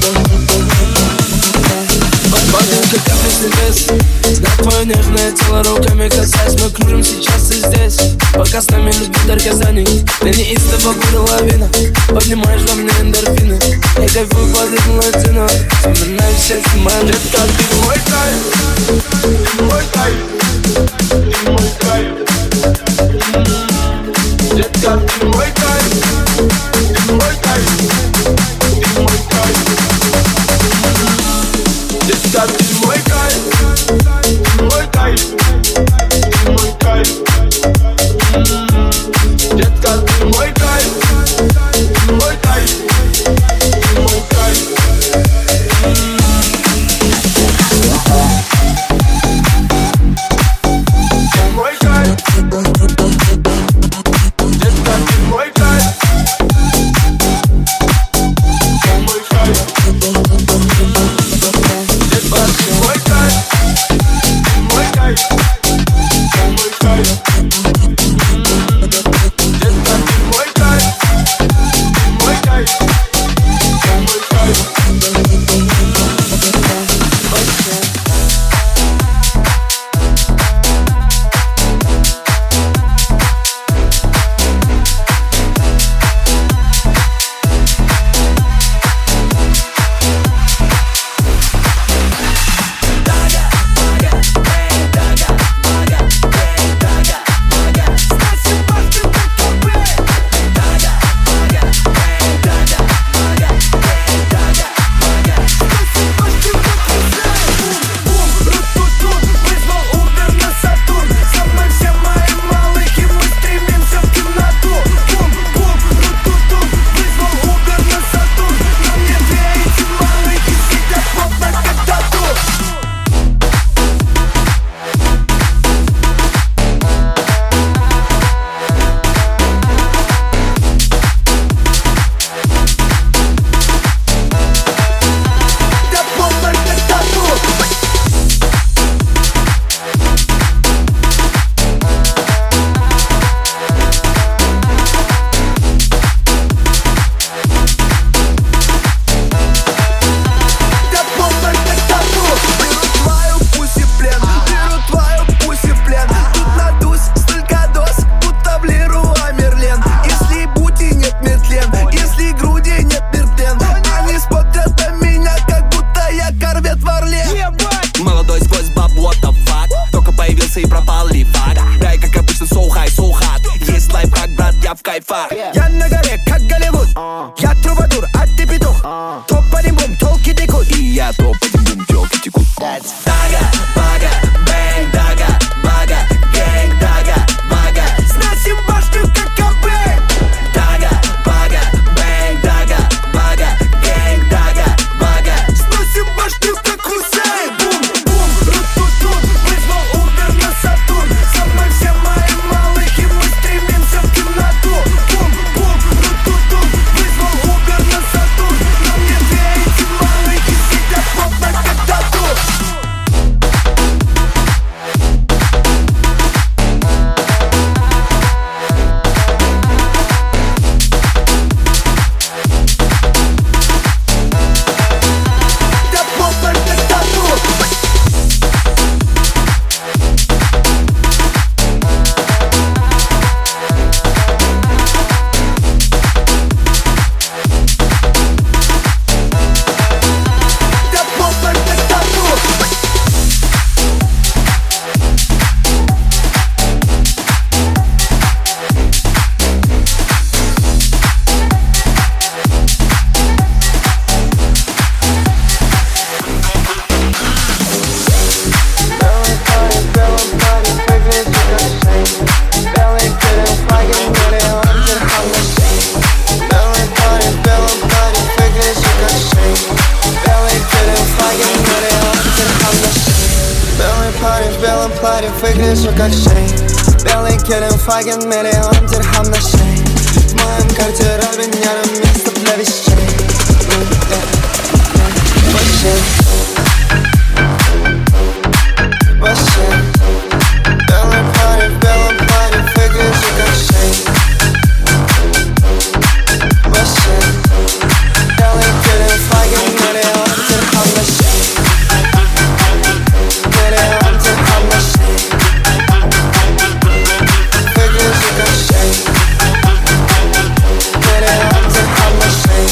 Падаем, как капли с небес. Знак твое нежное тело руками касаясь. Мы кружим сейчас и здесь. Пока с нами любви дар Казани. Ты неистово буря лавина. Поднимаешь во мне эндорфины. Я кайфую под ритм латино. Вспоминаю счастье моя. Детка, ты мой кайф, ты мой кайф, ты мой кайф. Детка, ты мой кайф, ты мой кайф, ты мой кайф. Детка, ты мой кайф, ты мой кайф, ты мой кайф. Детка, ты мой кайф, ты мой кайф, ты мой кайф. паре выгляжу как шейк. Белый килим, фаген, миллион дирхам на шее. В моем гардеробе нервное место для вещей. Вообще, вообще. Белый паре, в белом паре выгляжу как шейк. Вообще, белый килим, фаген, миллион дирхам на шее. Миллион дирхам на шее. Выгляжу как шейк. Миллион дирхам на шее.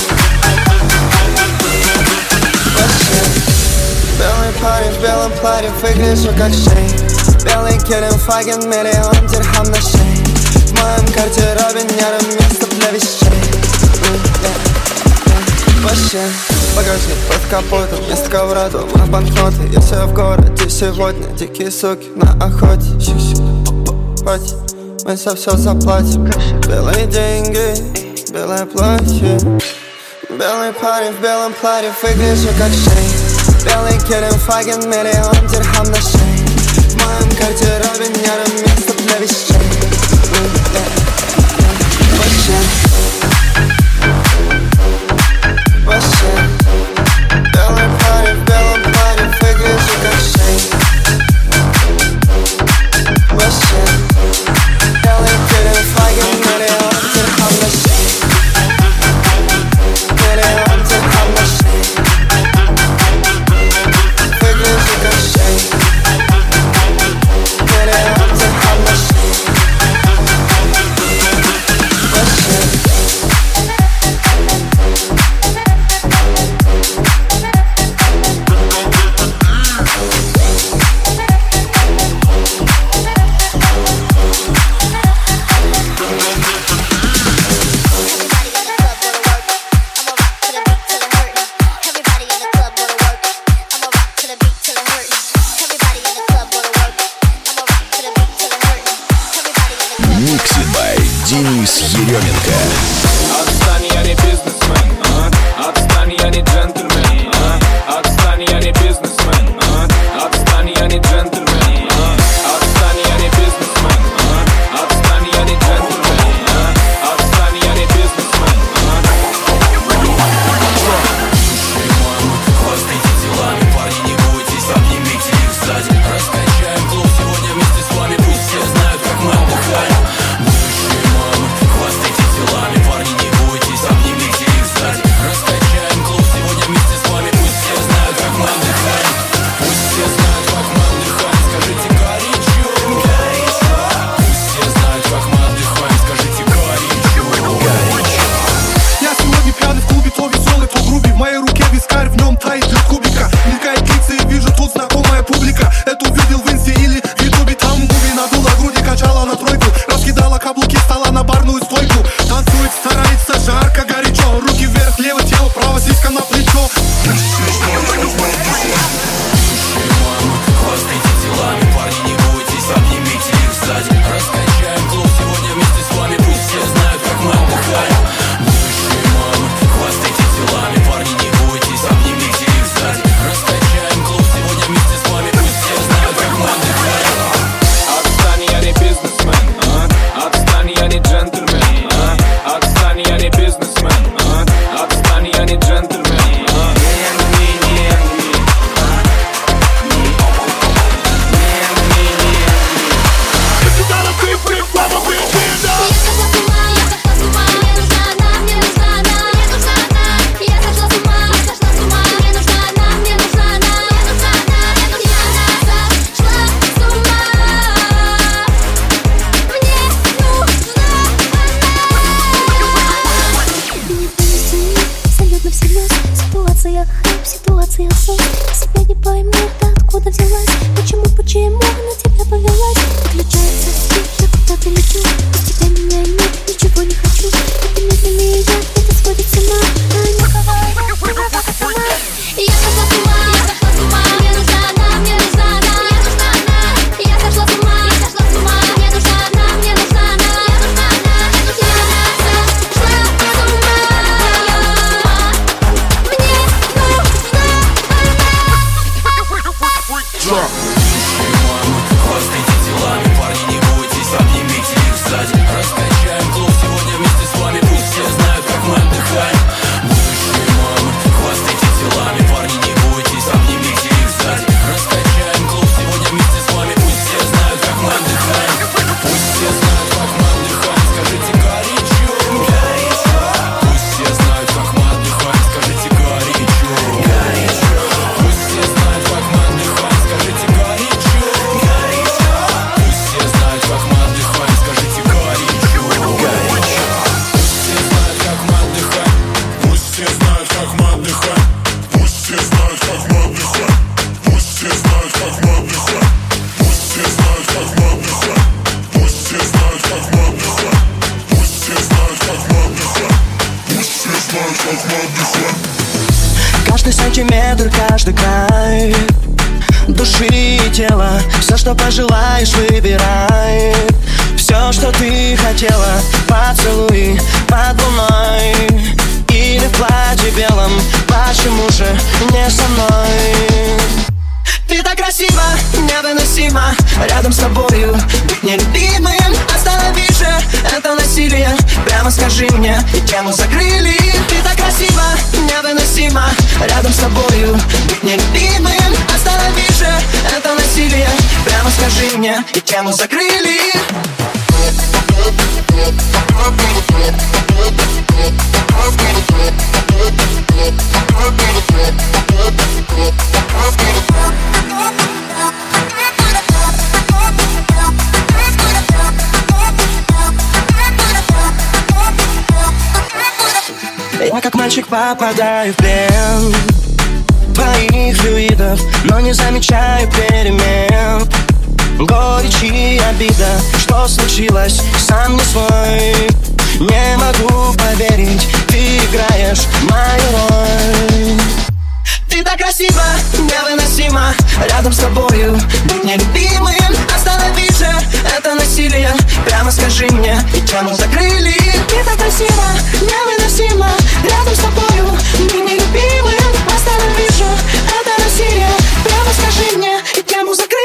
Вообще, белый парень в белом платье выгляжу как шейк. Белый килим, фаген, миллион дирхам на шее. В моем гардеробе нервное место для вещей. Вообще, багажник под капотом, вместо ковра дома банкноты. Я все в городе сегодня, дикие суки на охоте. Хватит, мы за все заплатим. Белые деньги, белое платье. Белый парень в белом платье выгляжу как шейк. Белый килим, фаген, миллион дирхам на шее. В моем гардеробе нервное место для вещей. Вообще, вообще, белый парень в белом платье выгляжу как шейк. Вообще, белый килим, фаген, миллион дирхам на шее. Миллион дирхам на шее. Выгляжу как шейк. Миллион дирхам на шее. Вообще. Mixed by Денис Еременко. Отстань, я не бизнесмен, а? Отстань, я не джентльмен, а? Отстань, я не бизнесмен, а? Отстань, я не джентльмен, а? Отстань, я не бизнесмен, а? Отстань, я не джентльмен, а? Отстань, я не бизнесмен, Хвастайте делами, парни, не бойтесь, обнимите их сзади. Раскачаем клуб сегодня вместе с вами, пусть все знают, как мы отдыхаем. Бывшие мамы, хвастайте делами, парни, не бойтесь, обнимите их сзади. Раскачаем клуб сегодня вместе с вами, пусть все знают, как мы отдыхаем. Пусть все знают, как мы отдыхаем, скажите горячо. Пусть все знают, как мы отдыхаем, скажите горячо. Я сегодня пьяный в клубе, то веселый, то грубый. В моей руке вискарь, в нем тает лед кубика. Мелькает лица и вижу, тут знакомая публика. Это увидел в инсте или в ютубе. Там губи надула груди, качала на тройку. Раскидала каблуки, стала на барную стойку. Танцует, старается, жарко, горячо. Руки вверх, левое тело, право сиська на плечо. Хвастайте делами, парни, не бойтесь, обнимите их сзади. Раскачаем клуб сегодня вместе с вами, пусть все знают, как мы отдыхаем. Бывшие мамы, хвастайте делами, парни, не бойтесь, обнимите их сзади. Раскачаем клуб сегодня вместе с вами, пусть все знают, как мы отдыхаем. отстань, я не бизнесмен, а? Отстань, я не джентльмен, а? Отстань, я не бизнесмен, а? Отстань, я не джентльмен, а? Ситуация хайп, ситуация сон. Себя не пойму, откуда взялась. Почему, почему на тебя повелась? Включается свет, я куда-то лечу. Без тебя меня нет, ничего не хочу. Это медленнее яд, это сводит с ума. А не говорю, как сама. Я сошла с ума, я сошла с ума. Мне нужна она, мне нужна она. Мне нужна она. Я сошла с ума, я сошла с ума. Мне нужна она, мне нужна она. Мне нужна она, мне нужна она. Я сошла с ума. Бывшие мамы, все знают, как мы отдыхаем. Пусть все знают, как мы отдыхаем. Пусть все знают, как мы отдыхаем. Пусть все знают, как мы отдыхаем. Пусть все знают, как мы отдыхаем. Пусть все знают, как мы отдыхаем. Каждый сантиметр, каждый край души и тела, все, что пожелаешь, выбирай. Все, что ты хотела, поцелуй под луной или в платье белом, почему же не со мной? Ты так красива, невыносимо рядом с тобою быть нелюбимым. Останови же это насилие, прямо скажи мне, тему закрыли. Ты так красива, невыносимо рядом с тобою быть нелюбимым. Останови же это насилие, прямо скажи мне, и тему закрыли. Я как мальчик попадаю в плен твоих флюидов, но не замечаю перемен. Горечь и обида, что случилось, сам не свой. Не могу поверить, ты играешь мою роль. Ты так красива, невыносимо рядом с тобою быть нелюбимым. Останови же это насилие, прямо скажи мне, и тему закрыли. Ты так красива, невыносимо рядом с тобою быть нелюбимым. Останови же это насилие, прямо скажи мне, и тему закрыли.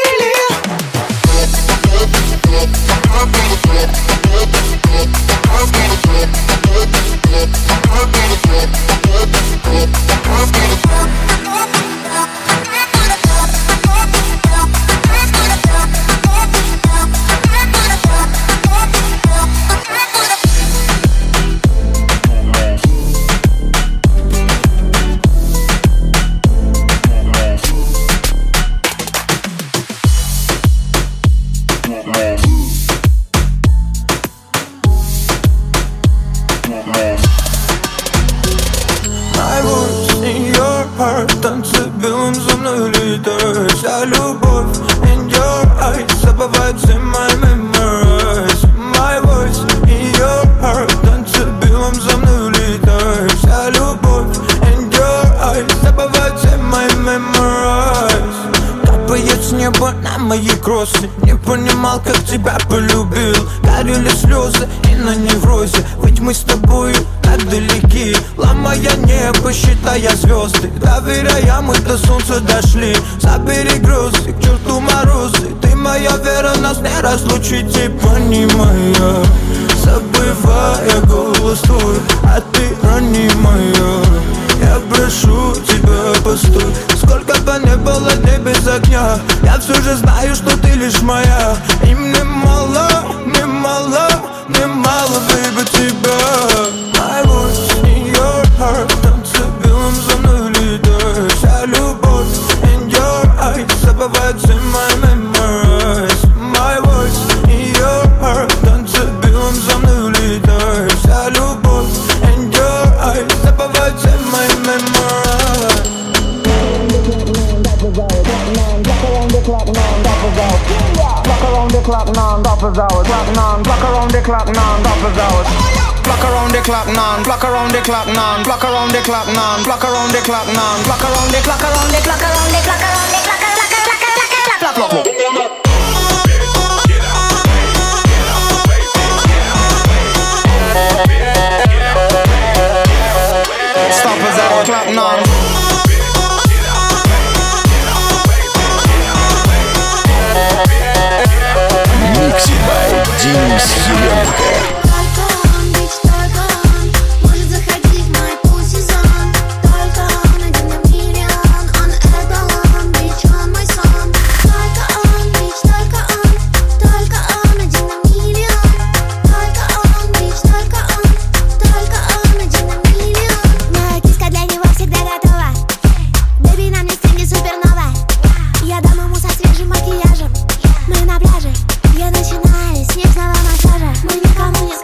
Танцы белым за мной летают. Вся любовь in your eyes забывает все мои memories. My voice in your heart. Танцы белым за мной летают. Вся любовь in your eyes забывает все мои memories. Капает с неба на мои кроссы. Не понимал, как тебя полюбил. Горели слезы и на неврозе. Ведь мы с тобой так далеки, ломая небо, считая звезды. Доверяя, мы до солнца дошли. Забери грозы, к черту морозы. Ты моя вера, нас не разлучить. И понимая, забывая голос твой, а ты ранимая. Я прошу тебя, постой. Сколько бы не было дней без огня, я все же знаю, что ты лишь моя. И мне мало, мне мало, мне мало, baby, тебя. My voice in your heart. Танцы белым за мной летают. Вся любовь in your eyes забывает все мои memories. My voice in your heart. Танцы белым за мной летают. Вся любовь in your eyes забывает все мои memories. Block around the clock, non-stop is out. Block around the clock, non-stop is out. Block non, block around the clock, non-stop is out. Block around the clock, non, block around the clock, non, block around the clock, non, block around the clock, non, block around the clock, around the clock, around the clock, around the clock, clock, clock, clock, clock, clock, clock, clock. Stop us at the clock, non. Mixed by Денис Еременко. Я начинаю с нежного массажа. Мы никому не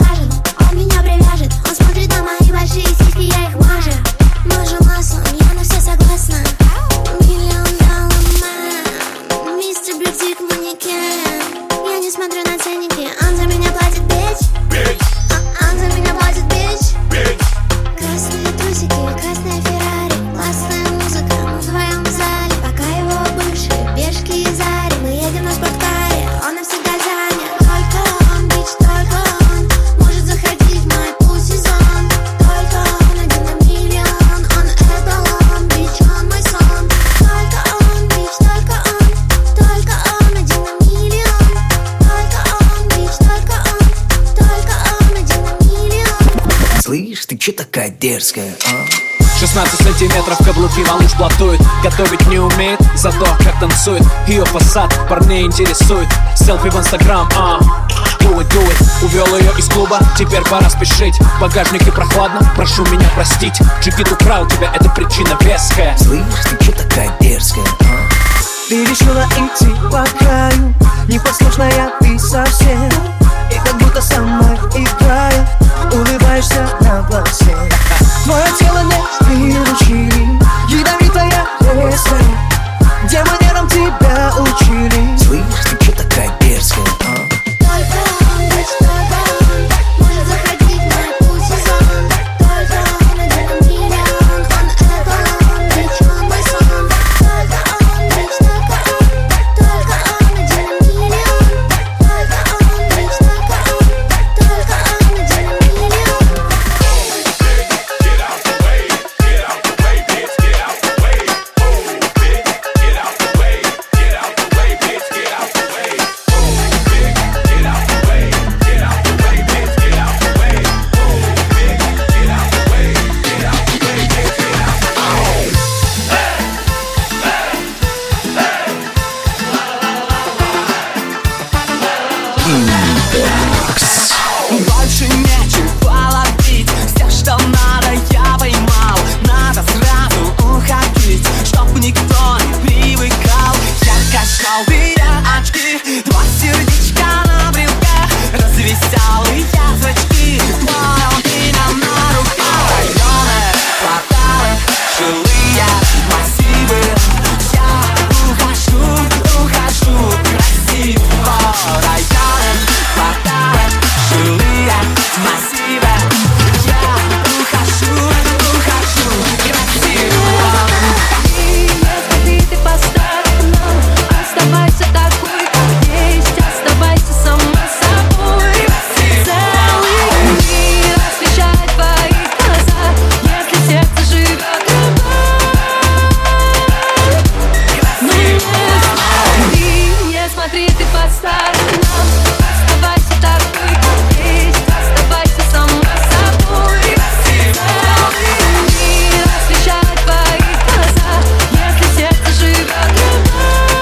дерзкая, а? шестнадцать сантиметров каблуки, малыш платует. Готовить не умеет, зато как танцует. Ее фасад парней интересует. Селфи в инстаграм, а do it, do it. Увел ее из клуба, теперь пора спешить. В багажнике прохладно, прошу меня простить. Джигит украл тебя, это причина веская. Слышь, ты че такая дерзкая, а? Ты решила идти по краю, непослушная ты совсем. И как будто сама играет, улыбаешься на глазе. Твое тело не приручили, ядовитая резкая. Где манерам тебя учили? Слышь, ты че такая дерзкая, а? Только он, ведь только он может заходить на эту сезон. Только он один миллион, он это он, ведь он мой сон. Только он, ведь только он, только он один миллион. Только он, ведь только он, только он один миллион. Get out the way, get out the way, bitch, get out the way. Oh, bitch, get out the way, get out the way, bitch, get out the way. Oh, bitch, get out the way, get out the way, bitch, get out the way. Oh, bitch, get out the way, get out the way, bitch, get out the way. Больше нечего ловить, все, что надо, я поймал. Надо сразу уходить, чтоб никто не привыкал. Ярко-желтые очки, два сердечка на брелках, развеселые зрачки, твоя меня на руках. Районы, кварталы, жилые массивы. Я ухожу, ухожу красиво. Районы, кварталы, жилые массивы. Я ухожу, ухожу красиво. И если ты поставь, но оставайся такой, как есть. Оставайся сама собой. Целый мир освещает твои глаза, если сердце живет любовь. Ну не смотри, не смотри, ты по сторонам. Оставайся такой, как есть. Оставайся сама собой. Целый мир освещает твои глаза, если сердце живет любовь.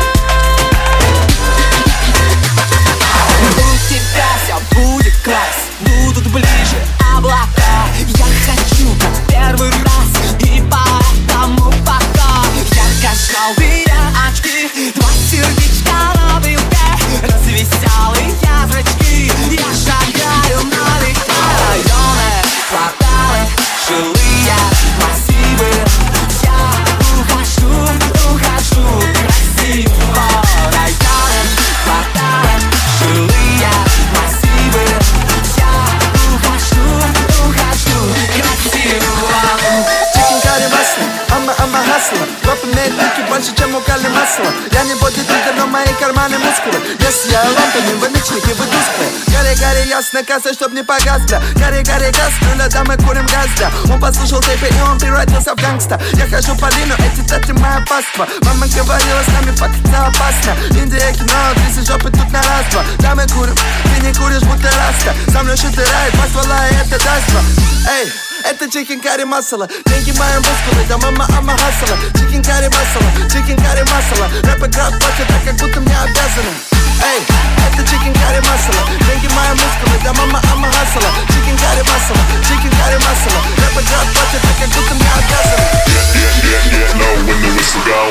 У тебя все будет класс, будут ближе облака. Я хочу как первый раз, и поэтому пока. Ярко-желтые очки, два сердечка на брелке, развеселые зрачки. Я шагаю налегке. Районы, кварталы, жилые массивы. Я ухожу, ухожу красиво. Районы, кварталы, жилые массивы. Я ухожу, ухожу красиво. Chicken curry масло, ама ама хасло. Роп имеет пики больше, чем у Карли масла. Я не бодибилдер, но мои карманы мускулы. Если я лампами, вы ночники, вы тусклые. Гори, гори, ясно, касса, чтоб не погас, бля. Гори, гори, газ, рюля, да мы курим газ, бля. Он послушал тэпи, и он превратился в гангста. Я хожу по лину, эти теты моя паства. Мама говорила, с нами фактично опасно. Индия, кино, тряси жопы тут на раз-два. Да мы курим, ты не куришь, будто раста. Со мной шуты райд, позвала, и это даст-два. Эй, это chicken curry масала. Деньги мои мускулы, да мама ама хасала. Chicken curry масала, chicken curry масала. Рэп играют платят так, как будто мне обязаны. Эй, это chicken curry масала. Деньги мои мускулы, да мама ама хасала. Chicken curry масала, chicken curry масала. Рэп играют платят так, как будто мне обязаны. Yeah, yeah, yeah, yeah, know when the whistle go.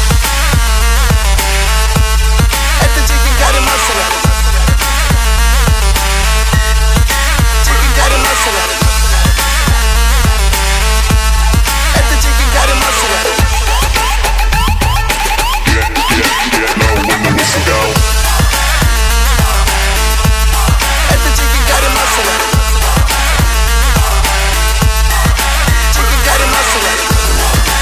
Это chicken curry масала. Chicken curry масала. Это chicken curry масала. Yeah, yeah, yeah, know when the whistle go. Это chicken curry масала. Chicken curry масала.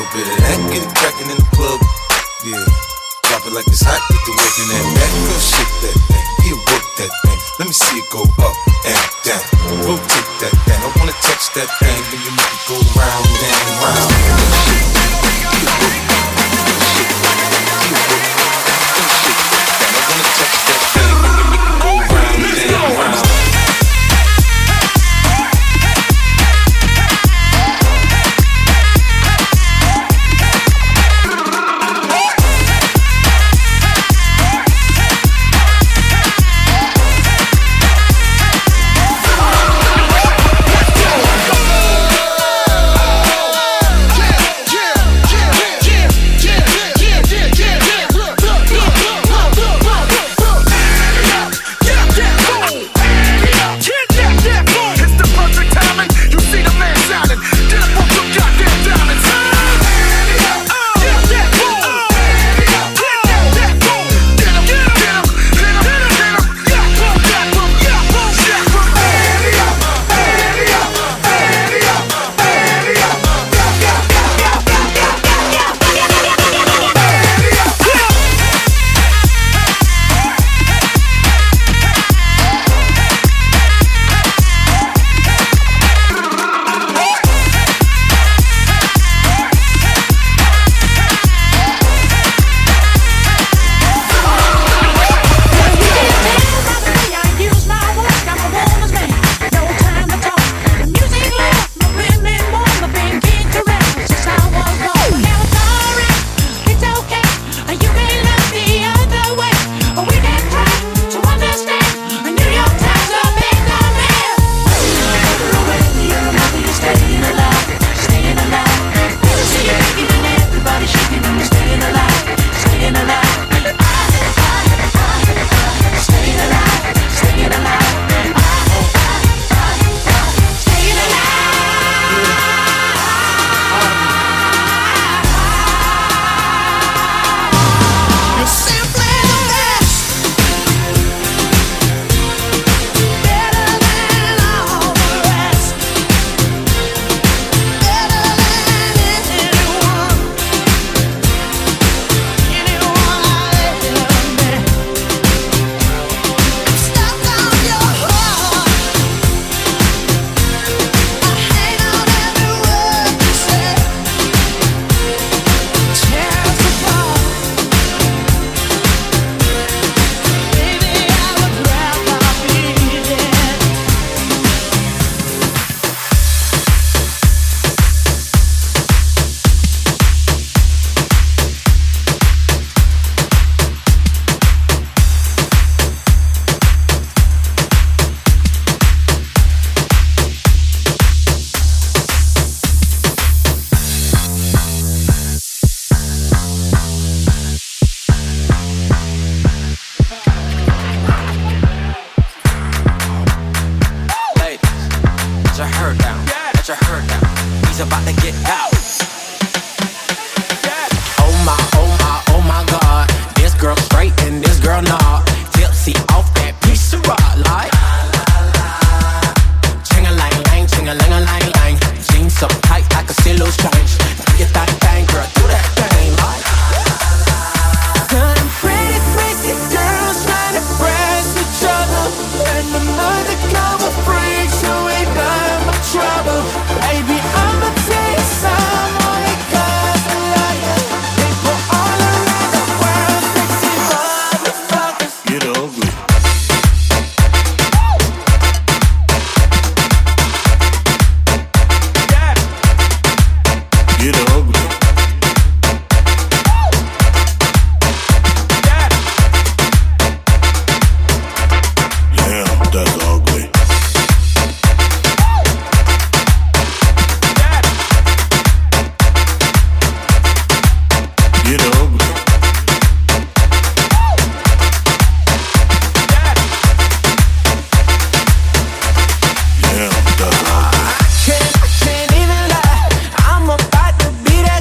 bit of that, get it crackin' in the club. Yeah, drop it like it's hot, get the work in that back. Girl, shake that thing, yeah, work that thing. Let me see it go up and down. Rotate that thing, I wanna touch that thing, then you make it go round and round. Can't, I can't even lie. I'm about to be that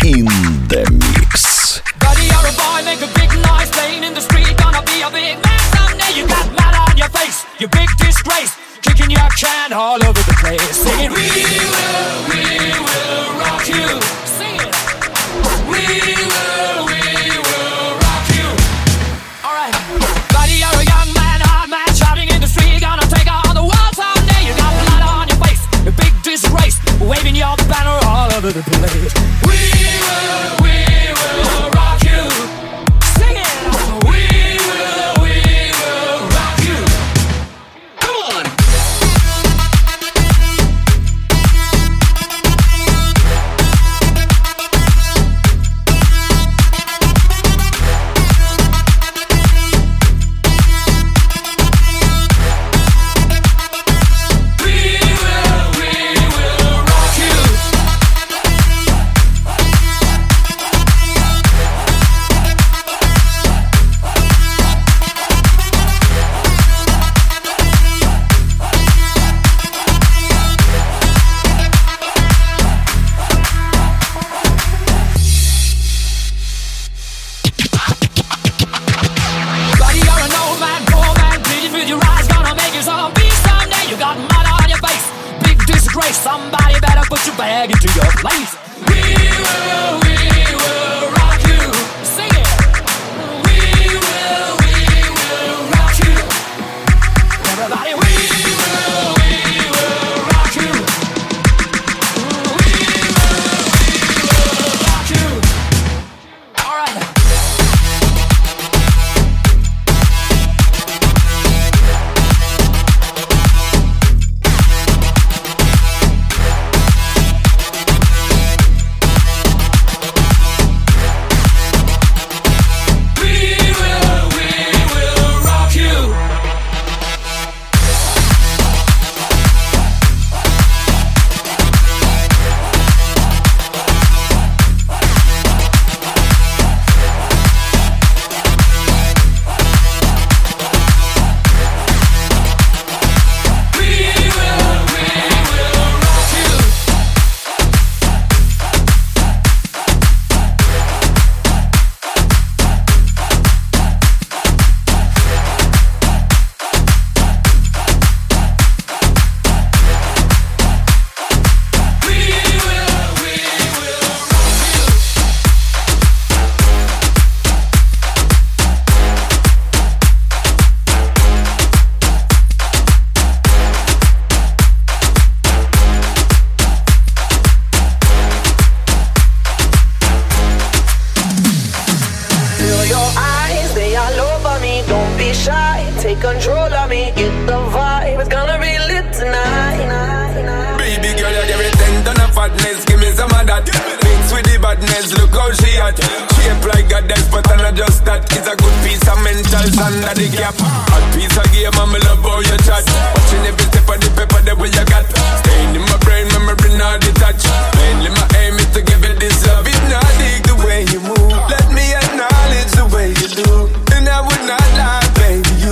In the Mix. Buddy, you're a boy, make a big noise, playing in the street, gonna be a big man someday. You got mud on your face, you big disgrace, kicking your can all over the place, singing, we will, we will rock you. Sing it. We will, we will rock you. Alright. Buddy, you're a young man, hard man, shouting in the street, gonna take on the world someday. You got blood on your face, a big disgrace, waving your banner all over the place. We will, we will rock you. Sing it. We will, we will rock you. Come on. Somebody better put your bag into your place. We will, we will rock you. Sing it. We will, we will rock you. Everybody, we will, we will rock you. We will, we will rock you. All right. Take control of me, get the vibe. It's gonna be lit tonight. Baby girl, you give me ten ton of fatness. Give me some of that. Mix with the badness, look how she hot. Shape like a death, but I'm not just that. It's a good piece of mental under the cap. Hot piece of game, and me love how you chat. Watching every step of the paper, the way you got. Staying in my brain, memory not detached. Mainly my aim is to give it this love. If not, dig the way you move. Let me acknowledge the way you do. And I would not lie, baby, you.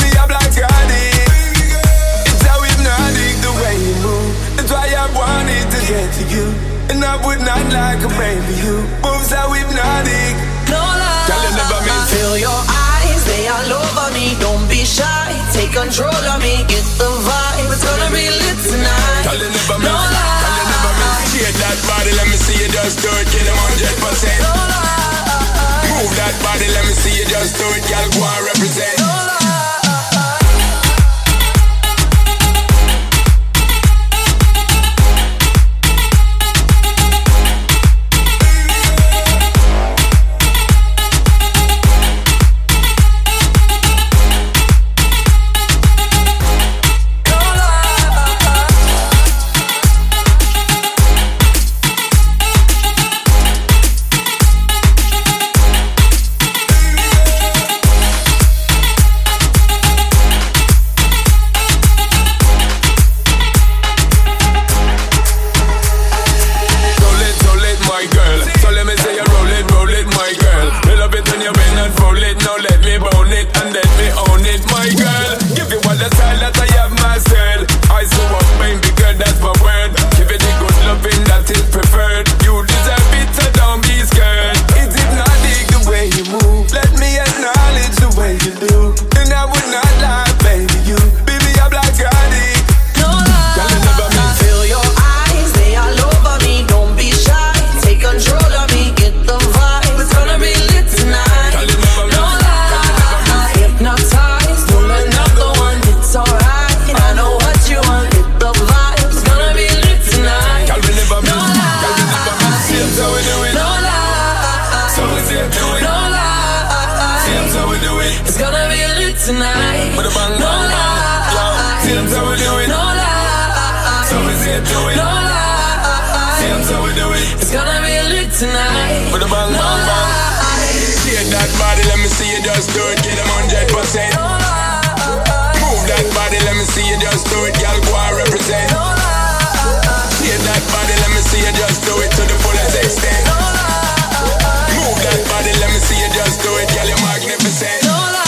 To you, and I would not like a baby. You moves how hypnotic. No lie. Tell you never mean. Feel your eyes, they all over me. Don't be shy, take control of me. Get the vibe, it's gonna be lit tonight. Tell you never no mean. lie. Tell you never mean. Shake that body, let me see you just do it, get them one hundred percent. No lie. Move that body, let me see you just do it, girl. Go and represent. No lie. it, do it. No lie. See, that's how we do it. It's gonna be lit tonight. Put the ball, no ball, ball. Shake that body, let me see you just do it. Get them one hundred percent. No lie. Move that body, let me see you just do it. Girl, go and represent. No lie. Shake that body, let me see you just do it to the fullest extent. No lie. Move that body, let me see you just do it. Girl, you're magnificent. No lie.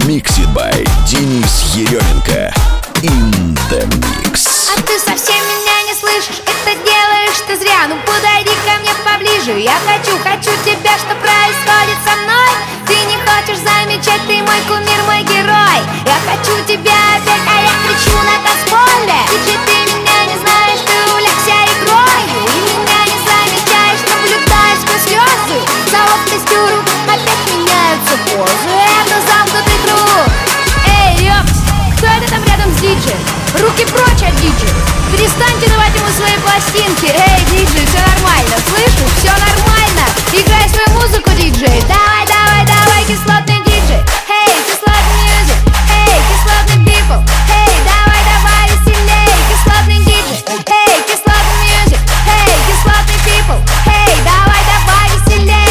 Mixed by Денис Еременко. In the Mix. А ты совсем меня не слышишь, это делаешь ты зря. Ну подойди ко мне поближе, я хочу, хочу тебя, что происходит со мной. Ты не хочешь замечать, ты мой кумир, мой герой. Я хочу тебя опять, а я кричу на танцполе. Диджей, ты меня не знаешь, ты увлекся игрою и меня не замечаешь, наблюдаешь сквозь слезы. За ловкостью рук опять меняются позы. Это замкнутый круг. Эй, ёпс, кто это там рядом с диджеем? Руки прочь от диджея. Перестаньте давать ему свои пластинки. Эй, диджей, все нормально, слышишь? Все нормально. Играй свою музыку, диджей. Давай, давай, давай, кислотный диджей. Эй, кислотный мьюзик. Эй, кислотный people. Эй, давай, давай, веселей. Кислотный диджей. Эй, кислотный мьюзик. Эй, кислотный people. Эй, давай, давай, веселей.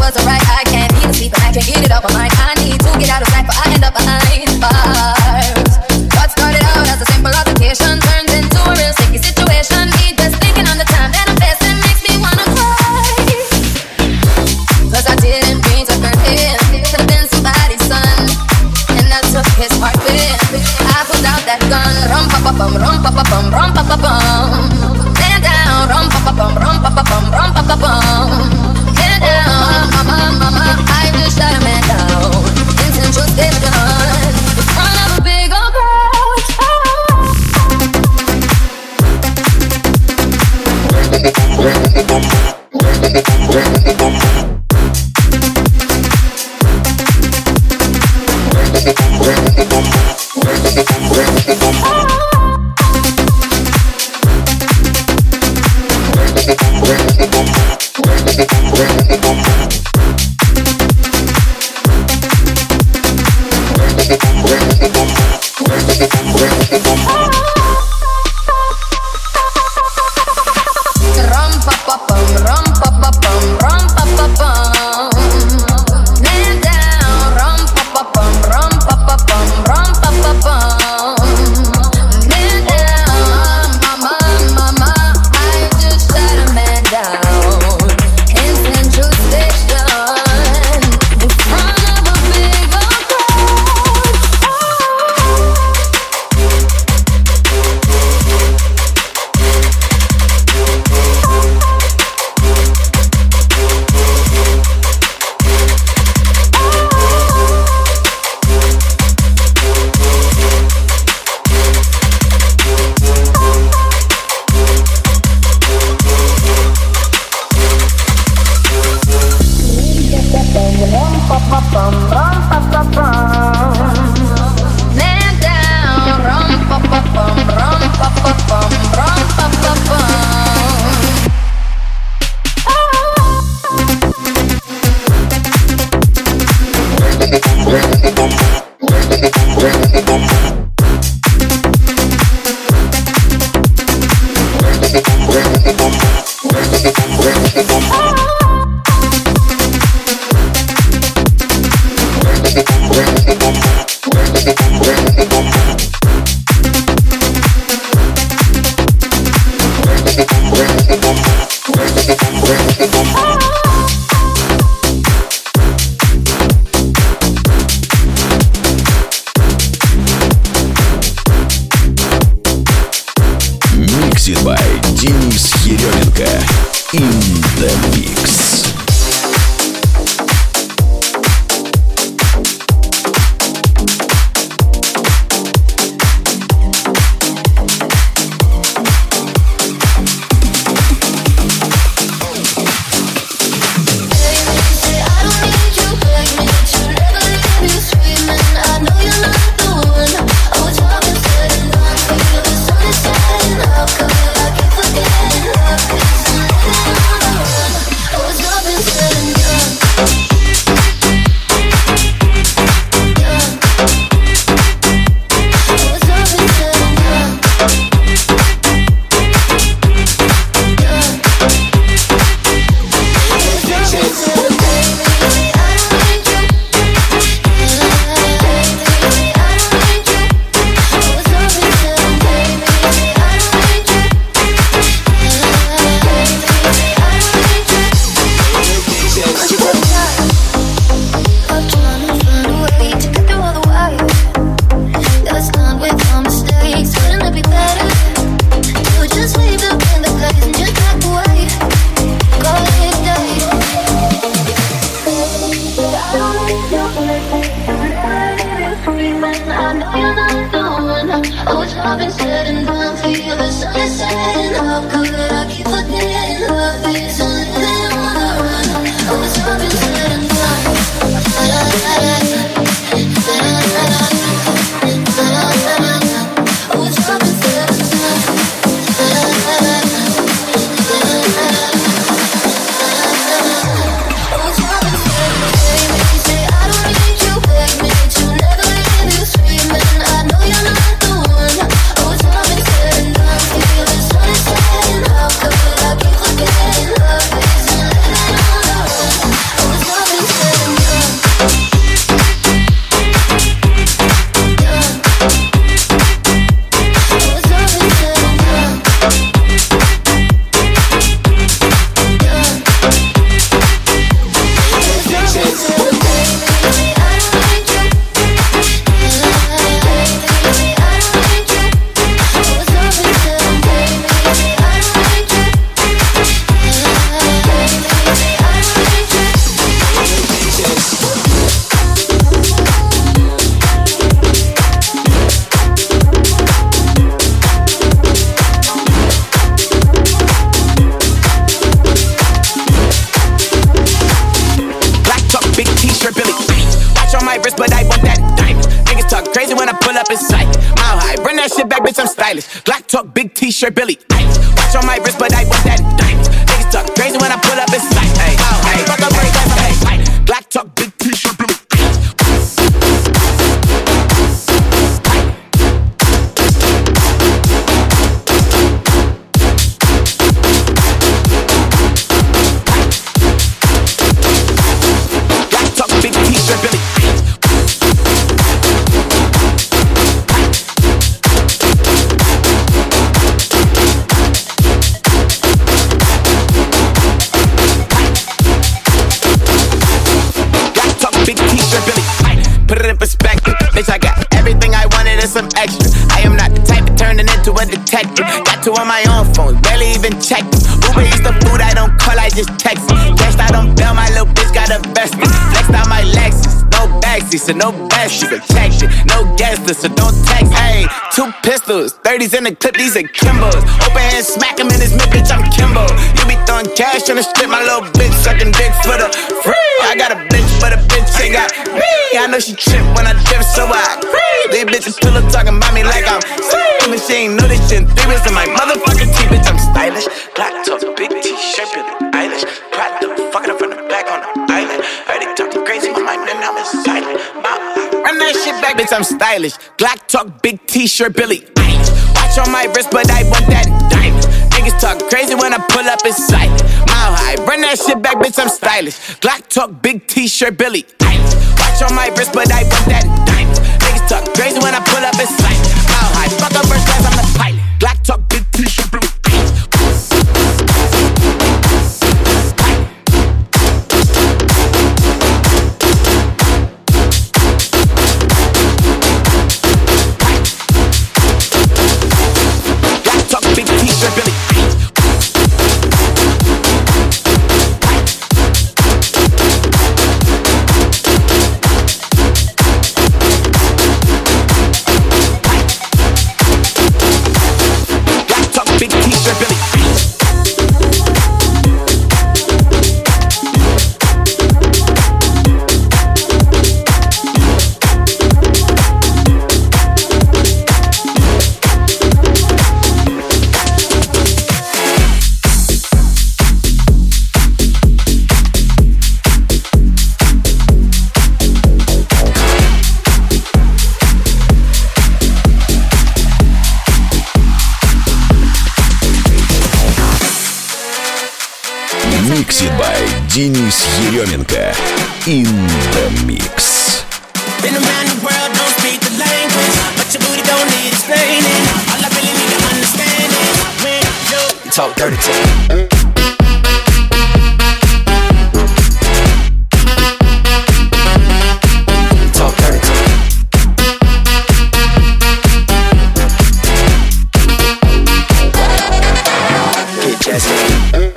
wasn't right. I can't even sleep and I can't get it off my mind. I need to get out of sight, but I end up behind bars. What started out as a simple altercation turns into a real sticky situation. Me just thinking on the time that I'm facing makes me wanna cry. Cause I didn't mean to hurt him. Could've been somebody's son, and I took his heart with him. I pulled out that gun. Rum pa pa bum, rum pa pa bum, rum pa pa bum. Man down, rum pa pa bum, rum pa pa bum, rum pa pa bum. Man down, mama, mama, I just shot a man down. Intentional state gun in front of a big old crowd. Mixed by Денис Еременко. In the mix. Love wrist, but I want that diamond. Niggas talk crazy when I pull up in sight. Mile high, run that shit back, bitch, I'm stylish. Glock talk, big t-shirt, Billy Eilish. Watch on my wrist, but I want that diamond. Niggas talk crazy when I pull up in sight. Hey, mile high, fuck up right back, hey. Glock talk, big t-shirt, Billy Eilish. Bitch, I got everything I wanted and some extra. I am not the type of turning into a detective. Got two on my own phone, barely even check them. Uber eats the food I don't call, I just text them. Cashed out on bail, my little bitch got a vested. Flexed out my Lexus, no backseat, so no best, you can check it. No guest list, so don't text. Hey, two pistols, thirties in the clip, these are Kimbos. Open hand, smack him in his mid, bitch, I'm Kimbo. You be throwing cash on the strip, my little bitch sucking dick for the free. I got a bitch, but a bitch ain't got me. I know she trip when I dip, so I creep. These bitches pillow talking about me like I'm sleep. And she ain't know this shit in three weeks in my motherfucking teeth, bitch, I'm stylish. Black top, big t-shirt, Billy Eilish. Pride the fucking up from the back on the island. Heard they talking crazy, my mind and I'm silent. Run that shit back, bitch, I'm stylish. Glock talk, big t-shirt, Billy Eilish. Watch on my wrist, but I want that diamond. Niggas talk crazy when I pull up in sight. Mile high, run that shit back, bitch, I'm stylish. Glock talk, big t-shirt, Billy Eilish. Watch on my wrist, but I want that diamond. Niggas talk crazy when I pull up in sight. Mile high, fuck up first class, I'm the pilot. Glock talk, big t-shirt, Billy Eilish. Mixed by Денис Еременко. In the mix. Been around the world, don't speak the language, but your booty don't need explaining. All I really need to understand is when you talk dirty to me. Talk dirty to me. Get jazzy.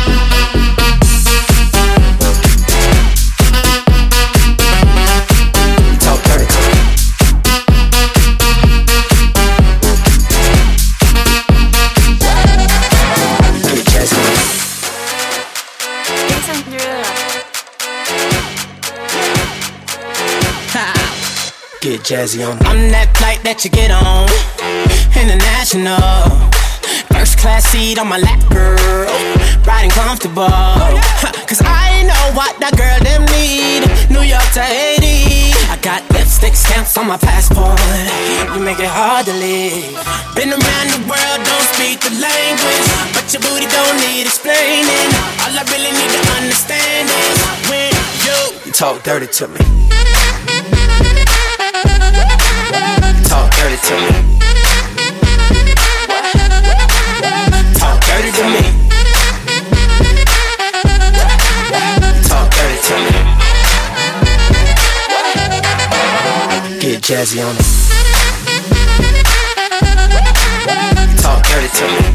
Get jazzy on. I'm that flight that you get on, international. First class seat on my lap, girl, riding comfortable. Cause I know what that girl them need. New York to Haiti, I got lipstick stamps on my passport. You make it hard to leave. Been around the world, don't speak the language, but your booty don't need explaining. All I really need to understand is when you talk dirty to me. Talk dirty to me. Talk dirty to me. Talk dirty to me. Get jazzy on it. Talk dirty to me.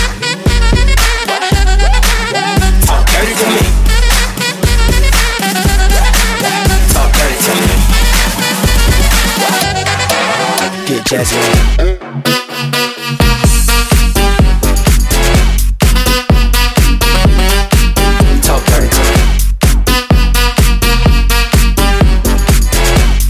Talk dirty to me. Talk dirty to me. Get jazzy on it. Talk dirty to me.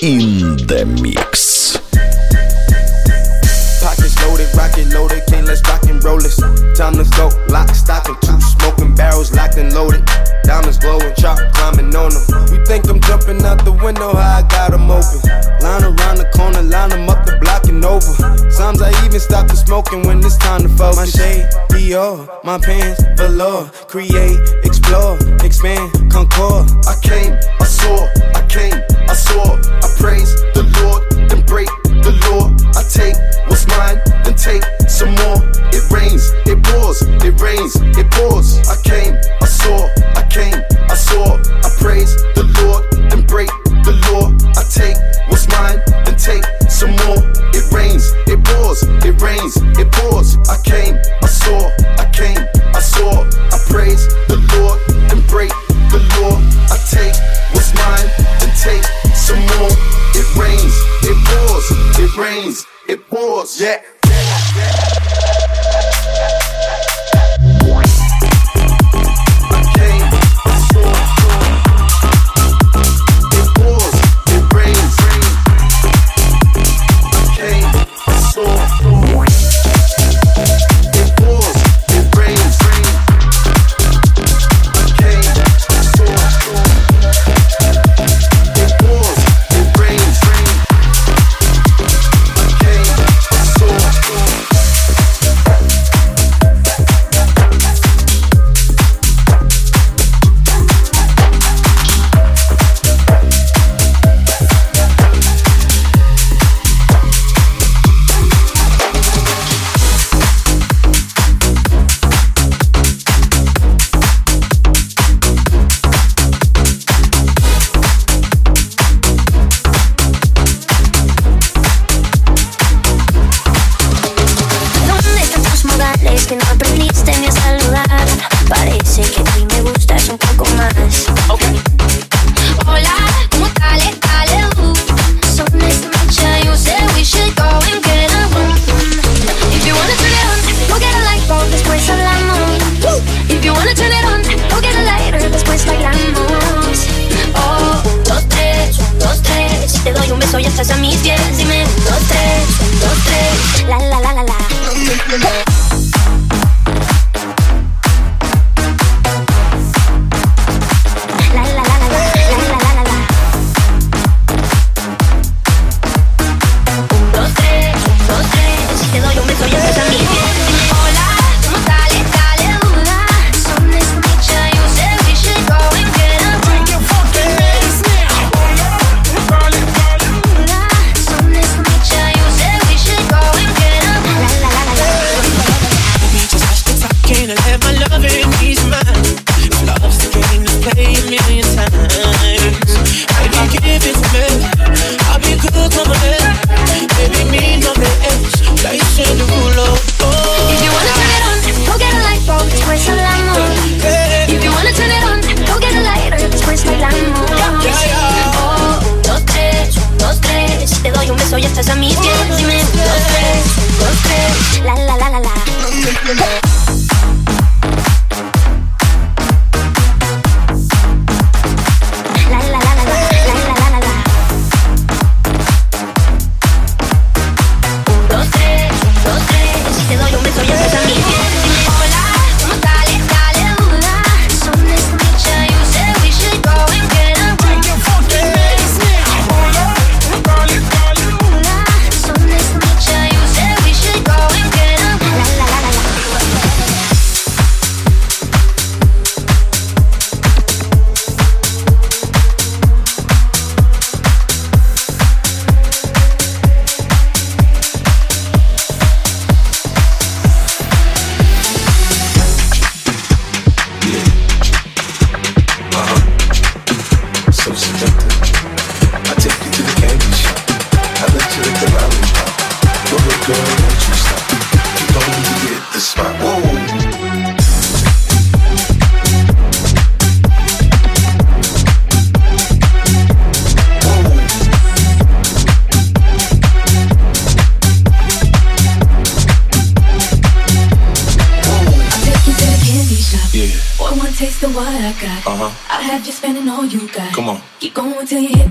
In the Mix. Pockets loaded, rocket loaded, okay, let's rock and roll this. Time to go, lock, stock, and two smoking barrels locked and loaded. Diamonds glowing, chop climbing on them. You think I'm jumping out the window, how I got them open. Line around the corner, line them up the block and over. Sometimes I even stop the smoking when it's time to focus. My shade, Dior, my pants, velour. Create, explore, expand, concord. I came, I saw, I came, I saw. I praise the Lord, then break the law. I take what's mine, then take some more. It rains, it pours, it rains, it pours. I came, I saw, I came, I saw. I praise the Lord, then break the law. I take what's mine, then take some more. It rains, it pours, it rains, it pours. I came, I saw, I came, I saw. I praise the Lord, then break the law. I take what's mine, then take some more. It rains, it pours, it rains, it pours. Yeah. Taste of what I got. Uh-huh. I'll have you spending all you got. Come on. Keep going till you hit the spot.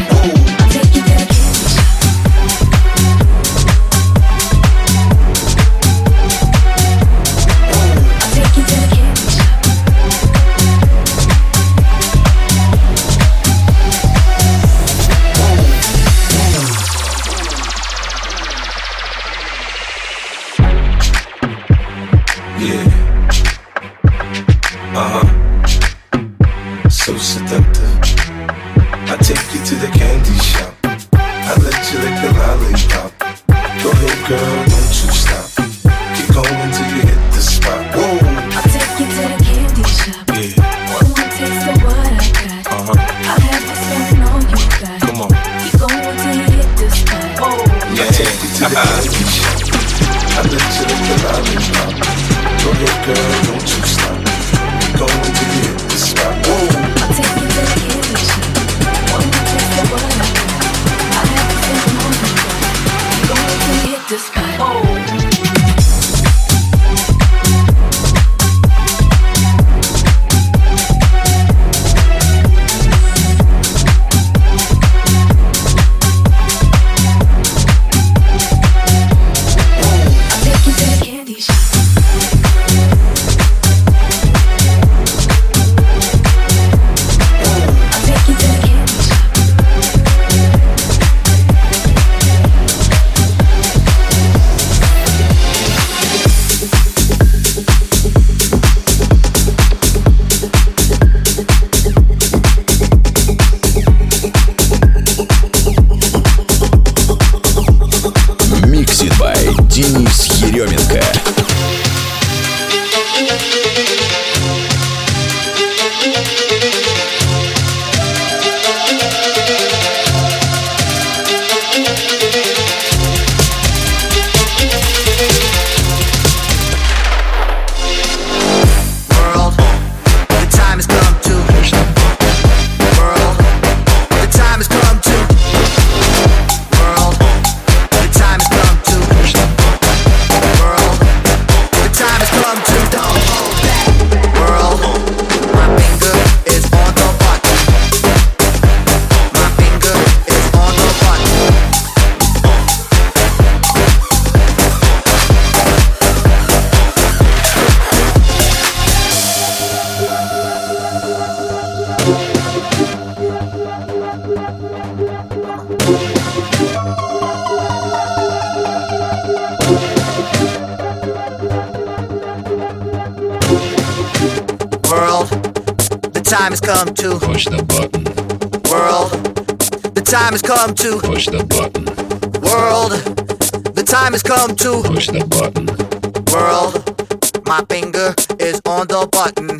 time has come to push the button. World, the time has come to push the button. World, the time has come to push the button. World, my finger is on the button.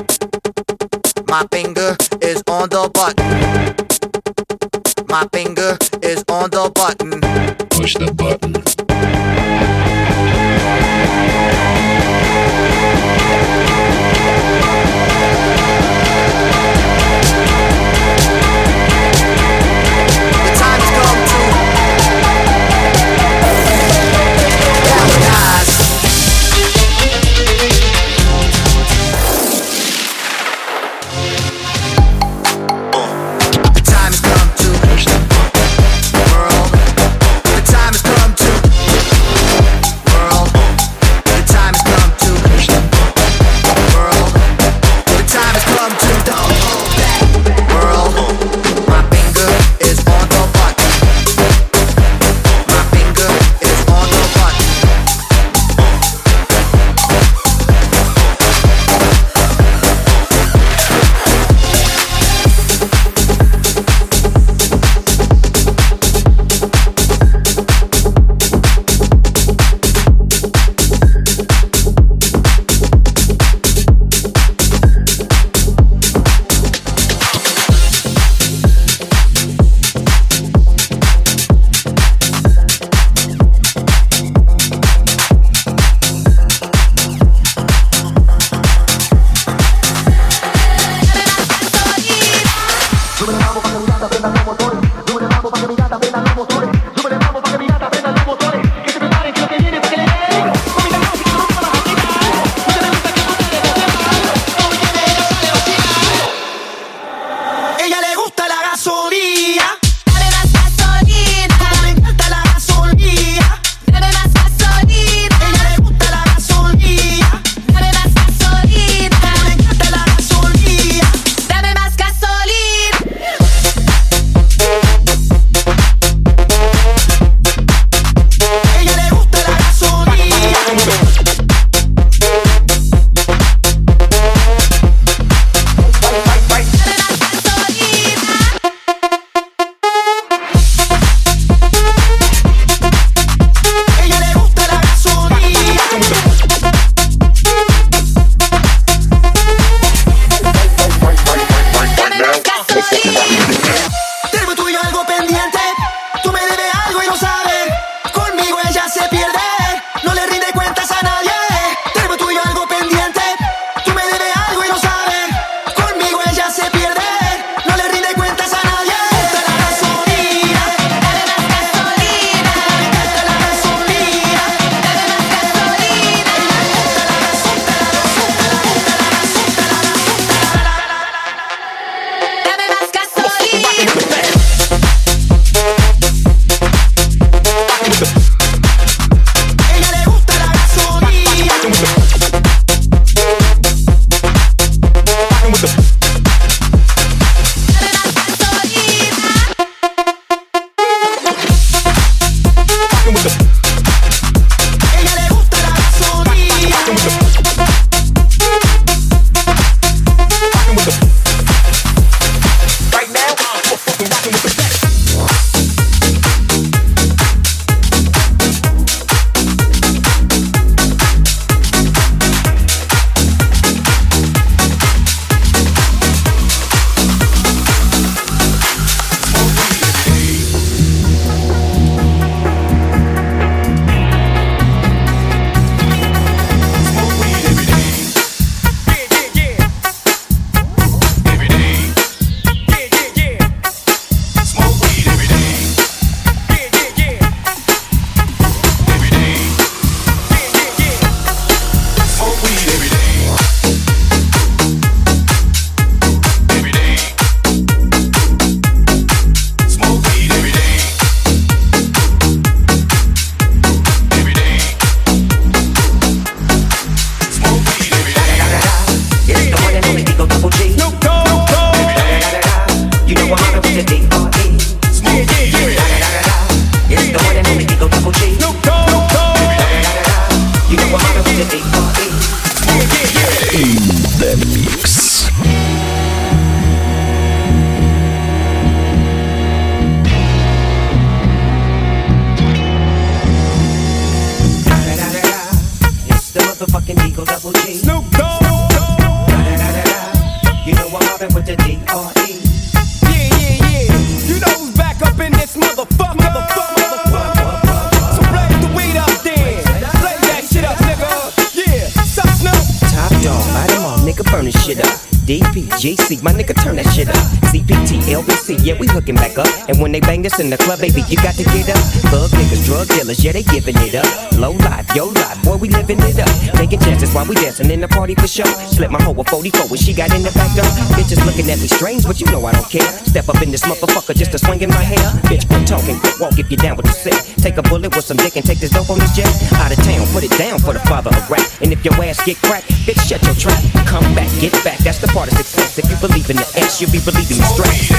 My finger is on the button. My finger is on the button. Push the button. The time has come to The Mix. It's the motherfucking Eagle Double G. Snoop Dogg. You know I'm mobbing with the D R E. Yeah, yeah, yeah. You know who's back up in this motherfucker. motherfucker, motherfucker. So blaze the weed up then. Blaze that shit up, nigga. Yeah. Sup, Snoop? Top dog, light 'em off, nigga, burn this shit up. D P, G C, my nigga, turn that shit up. C P T, L B C, yeah, we hooking back up. And when they bang this in the club, baby, you got to get up. Thug niggas, drug dealers, yeah, they giving it up. Low life, yo life, boy, we living it up. Taking chances while we dancing in the party for sure. Slip my hoe with forty-four when she got in the back door. Bitches looking at me strange, but you know I don't care. Step up in this motherfucker just to swing in my hair. Bitch, quit talking, quit walk if you down with the set. Take a bullet with some dick and take this dope on this jet. Out of town, put it down for the father of rap. And if your ass get cracked, bitch, shut your trap. Come back, get back, that's the part of success. If you believe in the S, you'll be believing the stress.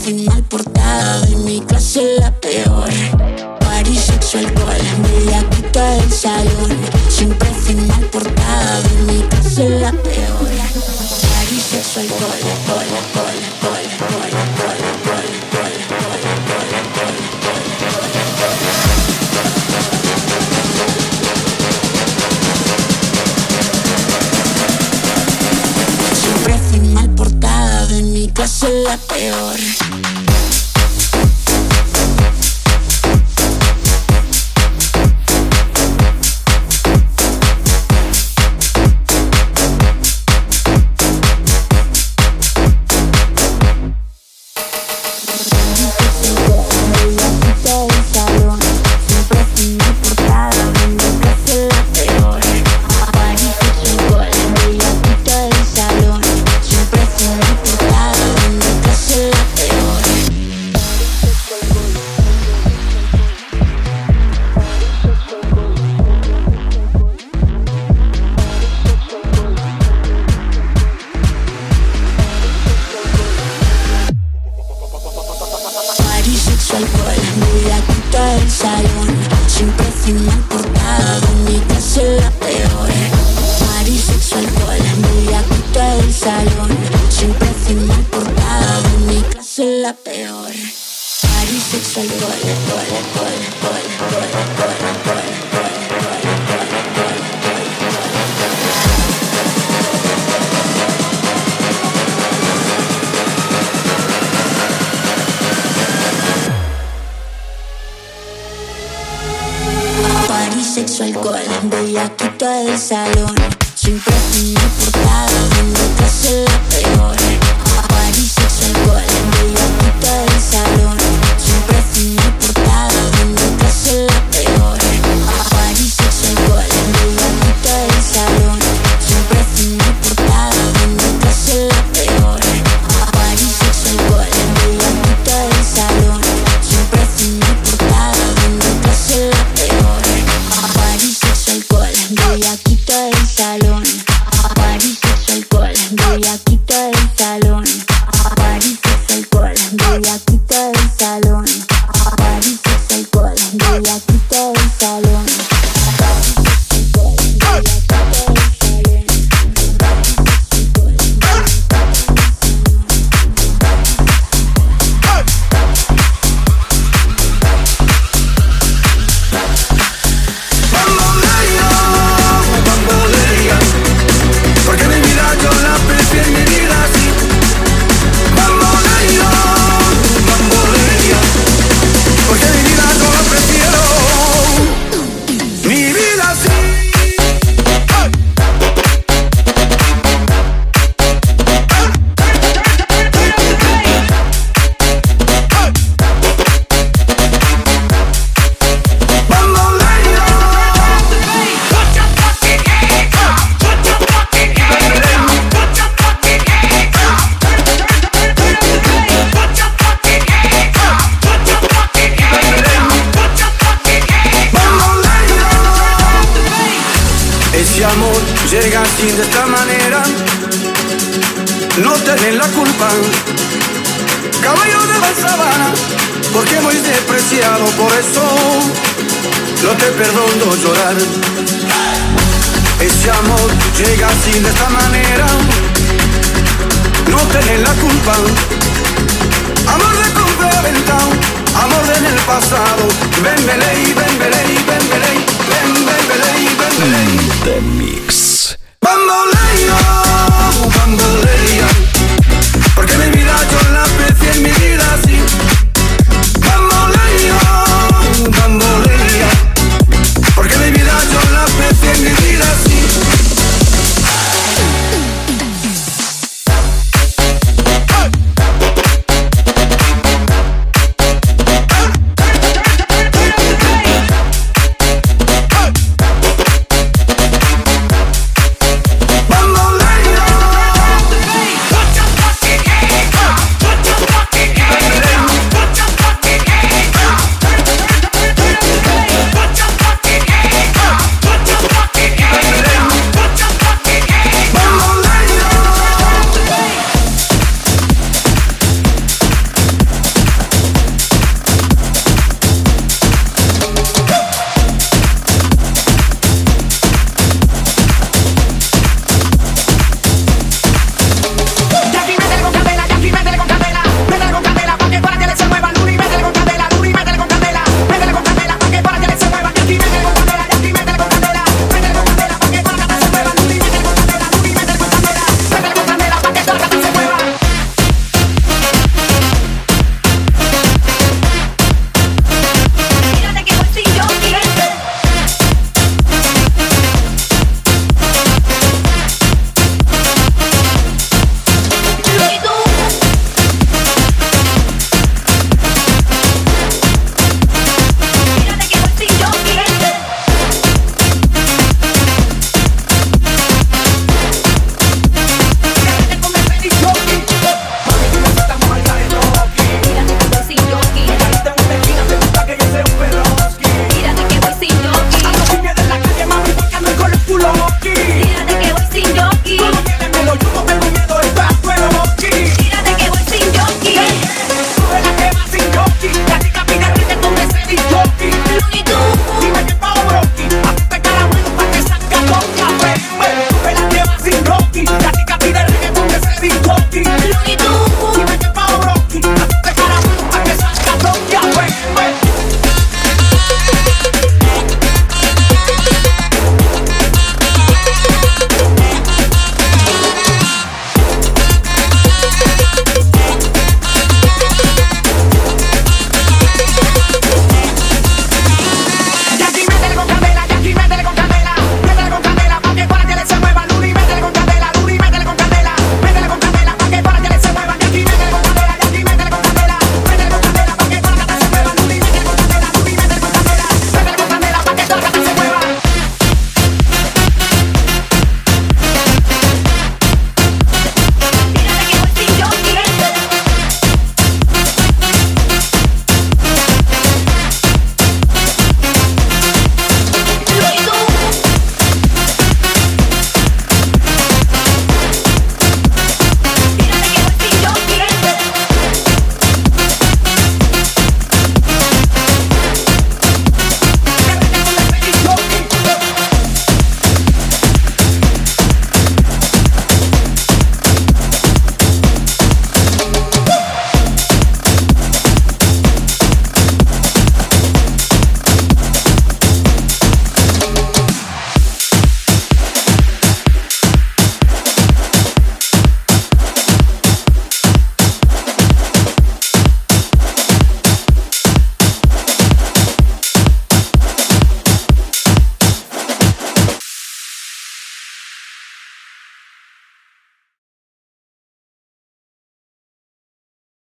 portada de mi clase la peor. Party, sexo, alcohol, bellaquita del salón. Siempre final portada de mi casa es la peor. París, sexo, alcohol, alcohol, alcohol, alcohol, alcohol, alcohol, alcohol, alcohol, alcohol, alcohol. Siempre final portada de mi casa es la peor. Sexo, alcohol, bellaquita del salón. Siempre final portada de mi casa es la peor. París, sexo, alcohol, bellaquita del salón. Siempre final portada de mi casa es la peor. París, sexo, alcohol, bellaquita del salón. Siempre final portada de mi casa es la peor. París, sexo, alcohol, bellaquita del salón. Siempre final portada de mi casa es la peor. París, sexo, alcohol, bellaquita del salón. París, sexo, alcohol, bellaquita del salón. París, sexo, alcohol, bellaquita del salón. París, sexo, alcohol, bellaquita del salón. Llega así de esta manera, no te den la culpa. Caballo de la sabana, porque muy despreciado, por eso no te perdono llorar. Ese amor llega así de esta manera, no te den la culpa. Amor de compra ventao, amor de en el pasado. Ven, beley, ven, beley, ven, beley, ven, ven, beley, ven, beley. The Mix. Bamboleo.